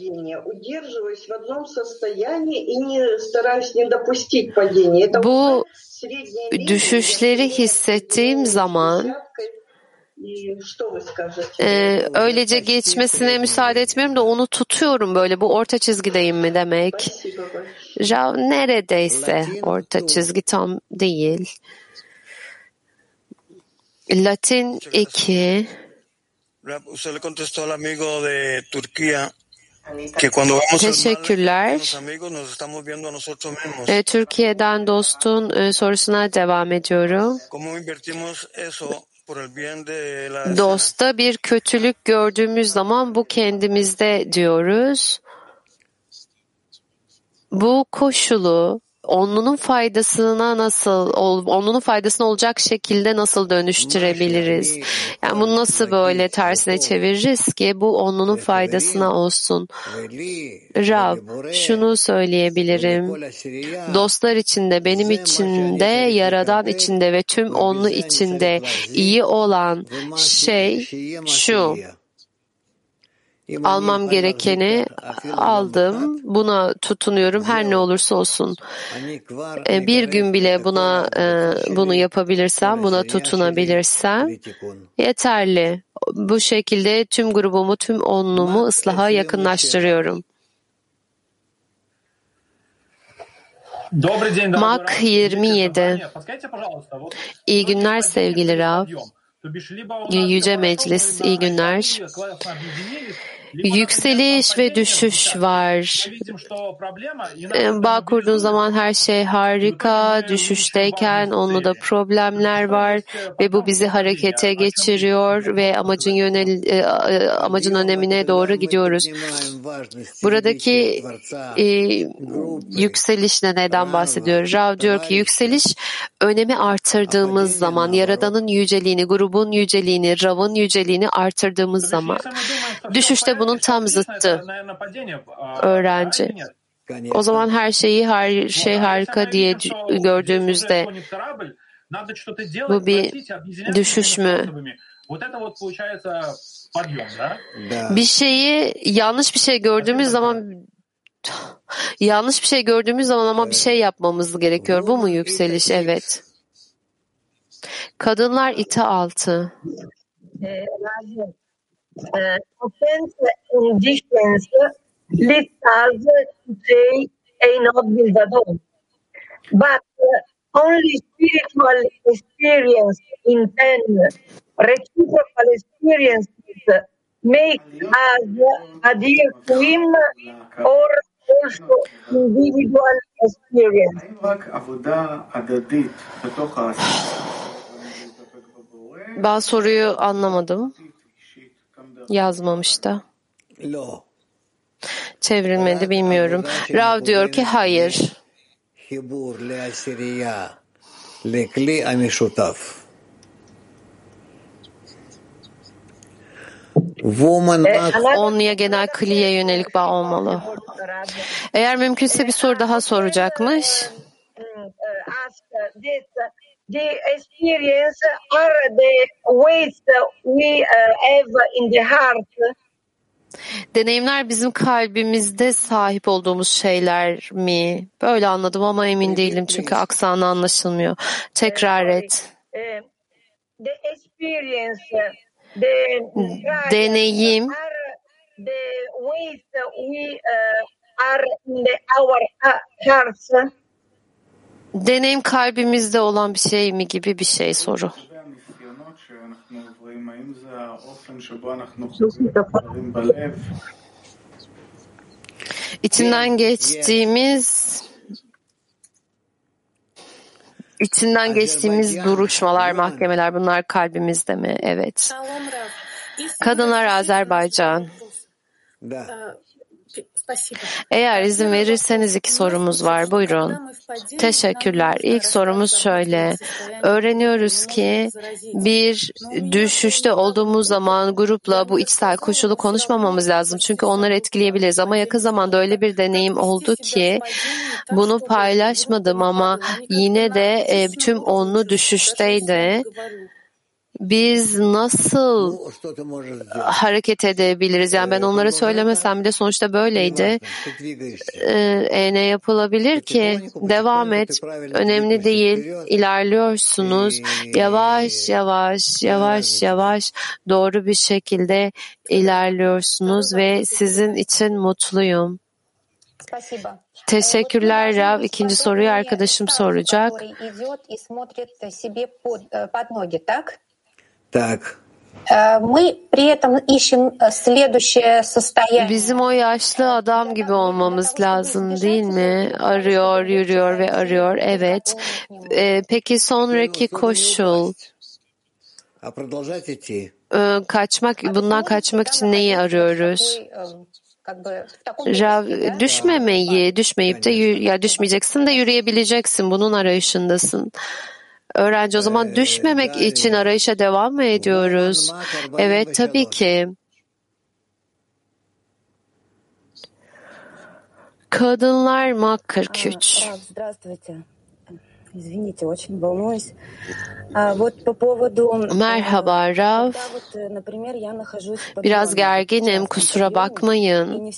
Bu düşüşleri hissettiğim zaman e, öylece geçmesine müsaade etmiyorum da onu tutuyorum böyle. Bu orta çizgideyim mi demek? Rav neredeyse orta çizgi, tam değil. Latin iki. Teşekkürler. E, Türkiye'den dostun e, sorusuna devam ediyorum. Dosta bir kötülük gördüğümüz zaman bu kendimizde diyoruz. Bu koşulu onlunun faydasına nasıl, onlunun faydasına olacak şekilde nasıl dönüştürebiliriz? Yani bunu nasıl böyle tersine çeviririz ki bu onlunun faydasına olsun? Rav, şunu söyleyebilirim. Dostlar içinde, benim içinde, Yaradan içinde ve tüm onlu içinde iyi olan şey şu. Almam gerekeni aldım, buna tutunuyorum her ne olursa olsun. Bir gün bile buna bunu yapabilirsem, buna tutunabilirsem yeterli. Bu şekilde tüm grubumu, tüm onlumu ıslaha yakınlaştırıyorum. Mak yirmi yedi. İyi günler sevgili Rav. Yüce Meclis, iyi günler. Yükseliş ve düşüş var. Bağ kurduğun zaman her şey harika, düşüşteyken onunla da problemler var ve bu bizi harekete geçiriyor ve amacın yönel amacın önemine doğru gidiyoruz. Buradaki e, yükselişle neden bahsediyor? Rav diyor ki yükseliş önemi artırdığımız zaman, Yaradan'ın yüceliğini, grubun yüceliğini, Rav'ın yüceliğini artırdığımız zaman. Düşüşte bunun tam zıttı. Öğrenci. O zaman her şeyi her şey harika diye gördüğümüzde bu bir düşüş mü? Bir şeyi yanlış bir şey gördüğümüz zaman yanlış bir şey gördüğümüz zaman ama bir şey yapmamız gerekiyor. Bu mu yükseliş? Evet. Kadınlar ita altı. Uh, offense conditions lead us to say a not build at all. But uh, only spiritual experience in ten reciprocal experiences make us adhere to him or also individual experience. Ben soruyu anlamadım. Yazmamış da. Çevrilmedi, bilmiyorum. Rav diyor ki hayır. Onluya genel kliye yönelik bağ olmalı. Eğer mümkünse bir soru daha soracakmış. The experience are the ways we have in the heart. Deneyimler bizim kalbimizde sahip olduğumuz şeyler mi? Böyle anladım ama emin değilim çünkü aksanı anlaşılmıyor. Tekrar et. The experience, the deneyim the ways we are in our hearts. Deneyim kalbimizde olan bir şey mi gibi bir şey soru. İçinden geçtiğimiz içinden geçtiğimiz duruşmalar, mahkemeler bunlar kalbimizde mi? Evet. Kadınlar Azerbaycan. Eğer izin verirseniz iki sorumuz var. Buyurun. Teşekkürler. İlk sorumuz şöyle. Öğreniyoruz ki bir düşüşte olduğumuz zaman grupla bu içsel koşulu konuşmamamız lazım. Çünkü onları etkileyebiliriz. Ama yakın zamanda öyle bir deneyim oldu ki bunu paylaşmadım ama yine de e, tüm onlu düşüşteydi. biz nasıl hareket edebiliriz? Yani ben onlara söylemesem bile sonuçta böyleydi. Ee, ne yapılabilir ki? Devam et. Önemli değil. İlerliyorsunuz. Yavaş yavaş, yavaş yavaş doğru bir şekilde ilerliyorsunuz ve sizin için mutluyum. Teşekkürler Rav. İkinci soruyu arkadaşım soracak. Так. Bizim o yaşlı adam gibi olmamız lazım değil mi? Arıyor, yürüyor ve arıyor. Evet. Ee, peki sonraki koşul? Ee, kaçmak, bundan kaçmak için neyi arıyoruz? Rav, düşmemeyi, düşmeyip de ya düşmeyeceksin de yürüyebileceksin. Bunun arayışındasın. Öğrenci, o zaman düşmemek için arayışa devam mı ediyoruz? Evet, tabii ki. Kadınlar Mak kırk üç. Merhaba Rav. Biraz gerginim, kusura bakmayın.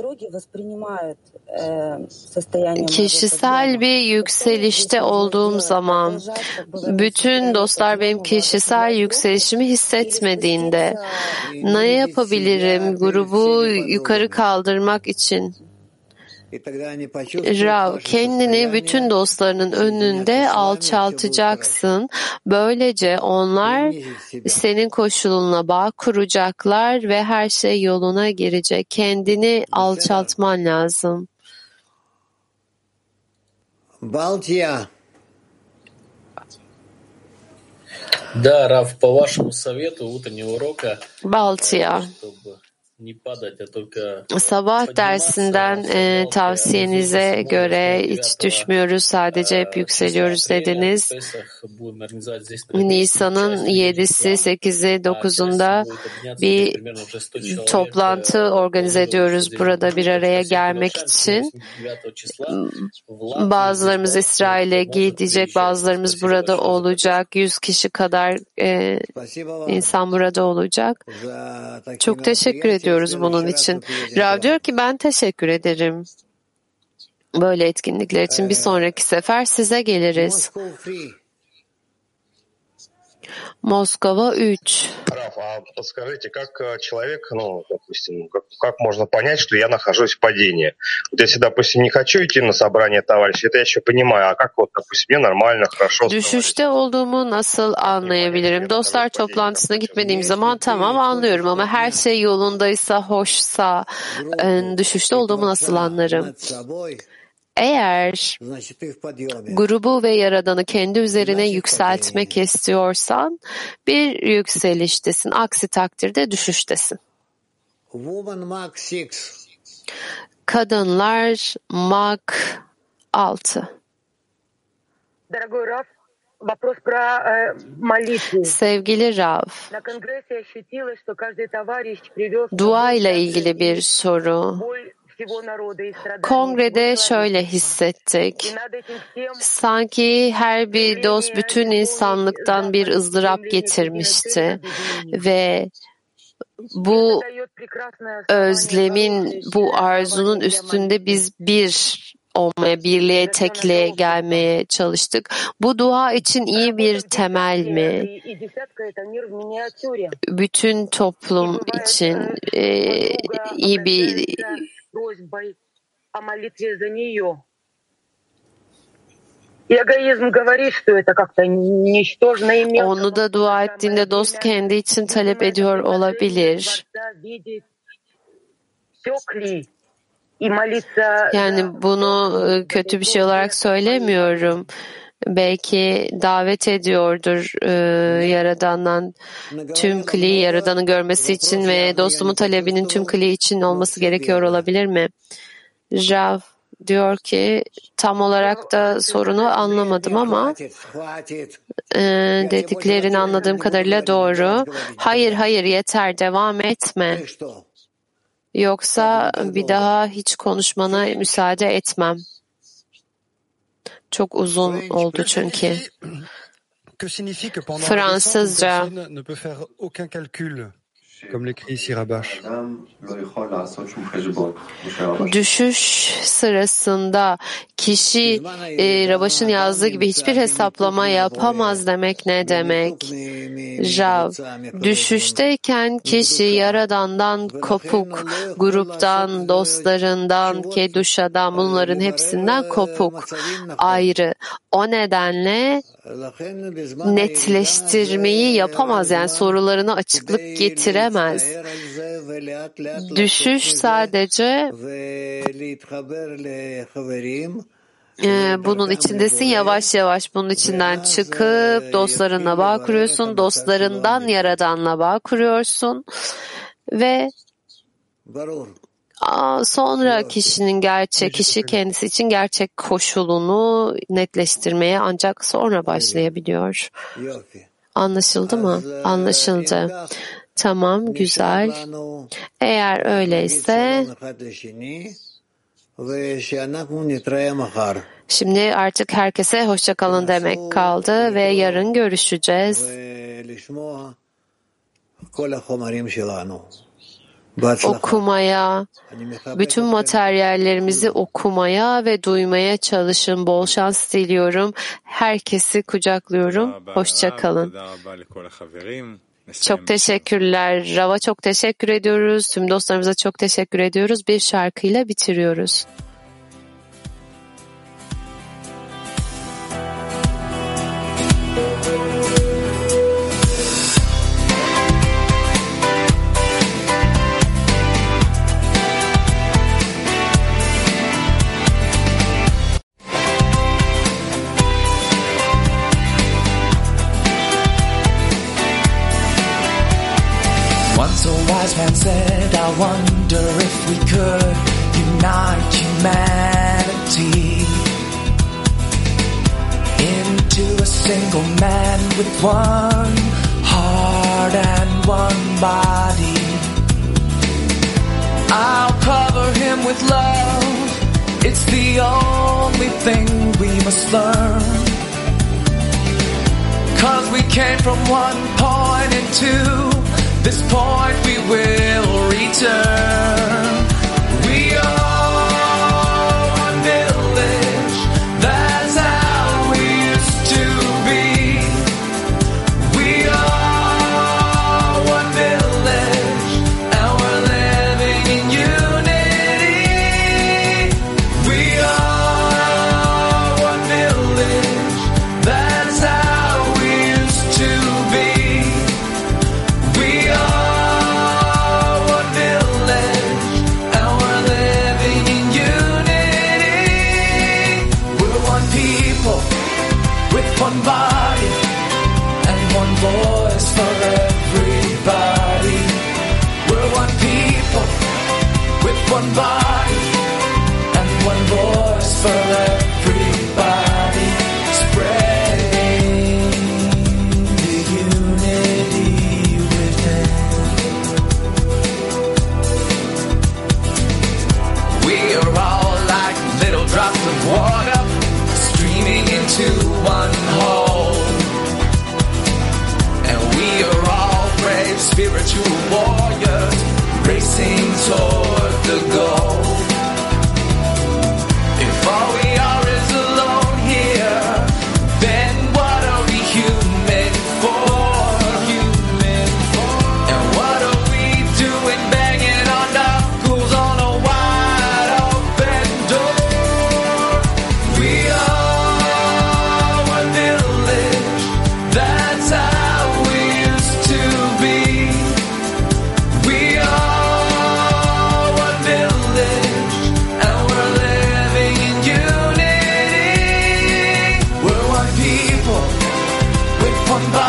Kişisel bir yükselişte olduğum zaman, bütün dostlar benim kişisel yükselişimi hissetmediğinde ne yapabilirim grubu yukarı kaldırmak için? Rav, kendini bütün dostlarının önünde alçaltacaksın. Böylece onlar senin koşuluna bağ kuracaklar ve her şey yoluna girecek. Kendini alçaltman lazım. Балтия. Да, Раф, по вашему совету утреннего урока, Baltia. Sabah dersinden e, tavsiyenize göre hiç düşmüyoruz, sadece hep yükseliyoruz dediniz. Nisan'ın yedisi, sekizi, dokuzunda bir toplantı organize ediyoruz burada bir araya gelmek için. Bazılarımız İsrail'e gidecek, bazılarımız burada olacak. Yüz kişi kadar e, insan burada olacak. Çok teşekkür ederim diyoruz bunun için. Rav diyor ki ben teşekkür ederim. Böyle etkinlikler için bir sonraki sefer size geliriz. Москва üç. Раф, а подскажите, как человек, ну, допустим, как, как можно понять, что я нахожусь в падении? Вот если, допустим, не хочу идти на собрание товарищей, это я еще понимаю, а как вот, допустим, мне нормально, хорошо. Düşüşte olduğumu nasıl anlayabilirim? Dostlar toplantısına gitmediğim zaman tamam anlıyorum ama her şey yolundaysa, hoşsa, düşüşte olduğumu nasıl anlarım? Eğer grubu ve Yaradan'ı kendi üzerine yükseltmek istiyorsan bir yükseliştesin. Aksi takdirde düşüştesin. Kadınlar Mak altı. Sevgili Rav, dua ile ilgili bir soru. Kongrede şöyle hissettik. Sanki her bir dost bütün insanlıktan bir ızdırap getirmişti ve bu özlemin, bu arzunun üstünde biz bir olmaya, birliğe, tekliğe gelmeye çalıştık. Bu dua için iyi bir temel mi? Bütün toplum için e, iyi bir onu da dua ettiğinde dost kendi için talep ediyor olabilir. Yani bunu kötü bir şey olarak söylemiyorum. Belki davet ediyordur e, Yaradan'dan tüm kliği Yaradan'ın görmesi için ve dostumun talebinin tüm kliği için olması gerekiyor olabilir mi? Rav diyor ki tam olarak da sorunu anlamadım ama e, dediklerini anladığım kadarıyla doğru. Hayır hayır yeter, devam etme. Yoksa bir daha hiç konuşmana müsaade etmem. Çok uzun oldu çünkü. Fransızca. Düşüş sırasında kişi e, Rabaş'ın yazdığı gibi hiçbir hesaplama yapamaz demek ne demek? Rav, düşüşteyken kişi Yaradan'dan kopuk, gruptan, dostlarından, Keduşa'dan, bunların hepsinden kopuk, ayrı. O nedenle netleştirmeyi yapamaz, yani sorularına açıklık getiremez. Düşüş sadece Ee, bunun içindesin, yavaş yavaş bunun içinden çıkıp dostlarınla bağ kuruyorsun, dostlarından Yaradan'la bağ kuruyorsun ve aa, sonra kişinin gerçek, kişi kendisi için gerçek koşulunu netleştirmeye ancak sonra başlayabiliyor. Anlaşıldı mı? Anlaşıldı. Tamam, güzel. Eğer öyleyse şimdi artık herkese hoşça kalın demek kaldı ve yarın görüşeceğiz. Okumaya, bütün materyallerimizi okumaya ve duymaya çalışın. Bol şans diliyorum. Herkesi kucaklıyorum. Hoşça kalın. Çok teşekkürler. Rav'a çok teşekkür ediyoruz. Tüm dostlarımıza çok teşekkür ediyoruz. Bir şarkıyla bitiriyoruz. Once a wise man said, I wonder if we could unite humanity into a single man with one heart and one body. I'll cover him with love. It's the only thing we must learn. 'Cause we came from one point and to this point we will return. We are one village, that's how we used to be. We are one village, and we're living in unity. We are one village, that's how we used to be. We are one village, and we're living in unity. We're one people with one body and one voice for everybody. We're one people with one body and one voice for everybody. Spreading the unity within. We are all like little drops of water streaming into one whole. And we are all brave spiritual warriors racing toward the goal. If all we are is alone here, then what are we human for? Human for. And what are we doing banging our knuckles on a wide open door? We are one village, that's how we used to be. We are one village, and we're living in unity. We're one people with one body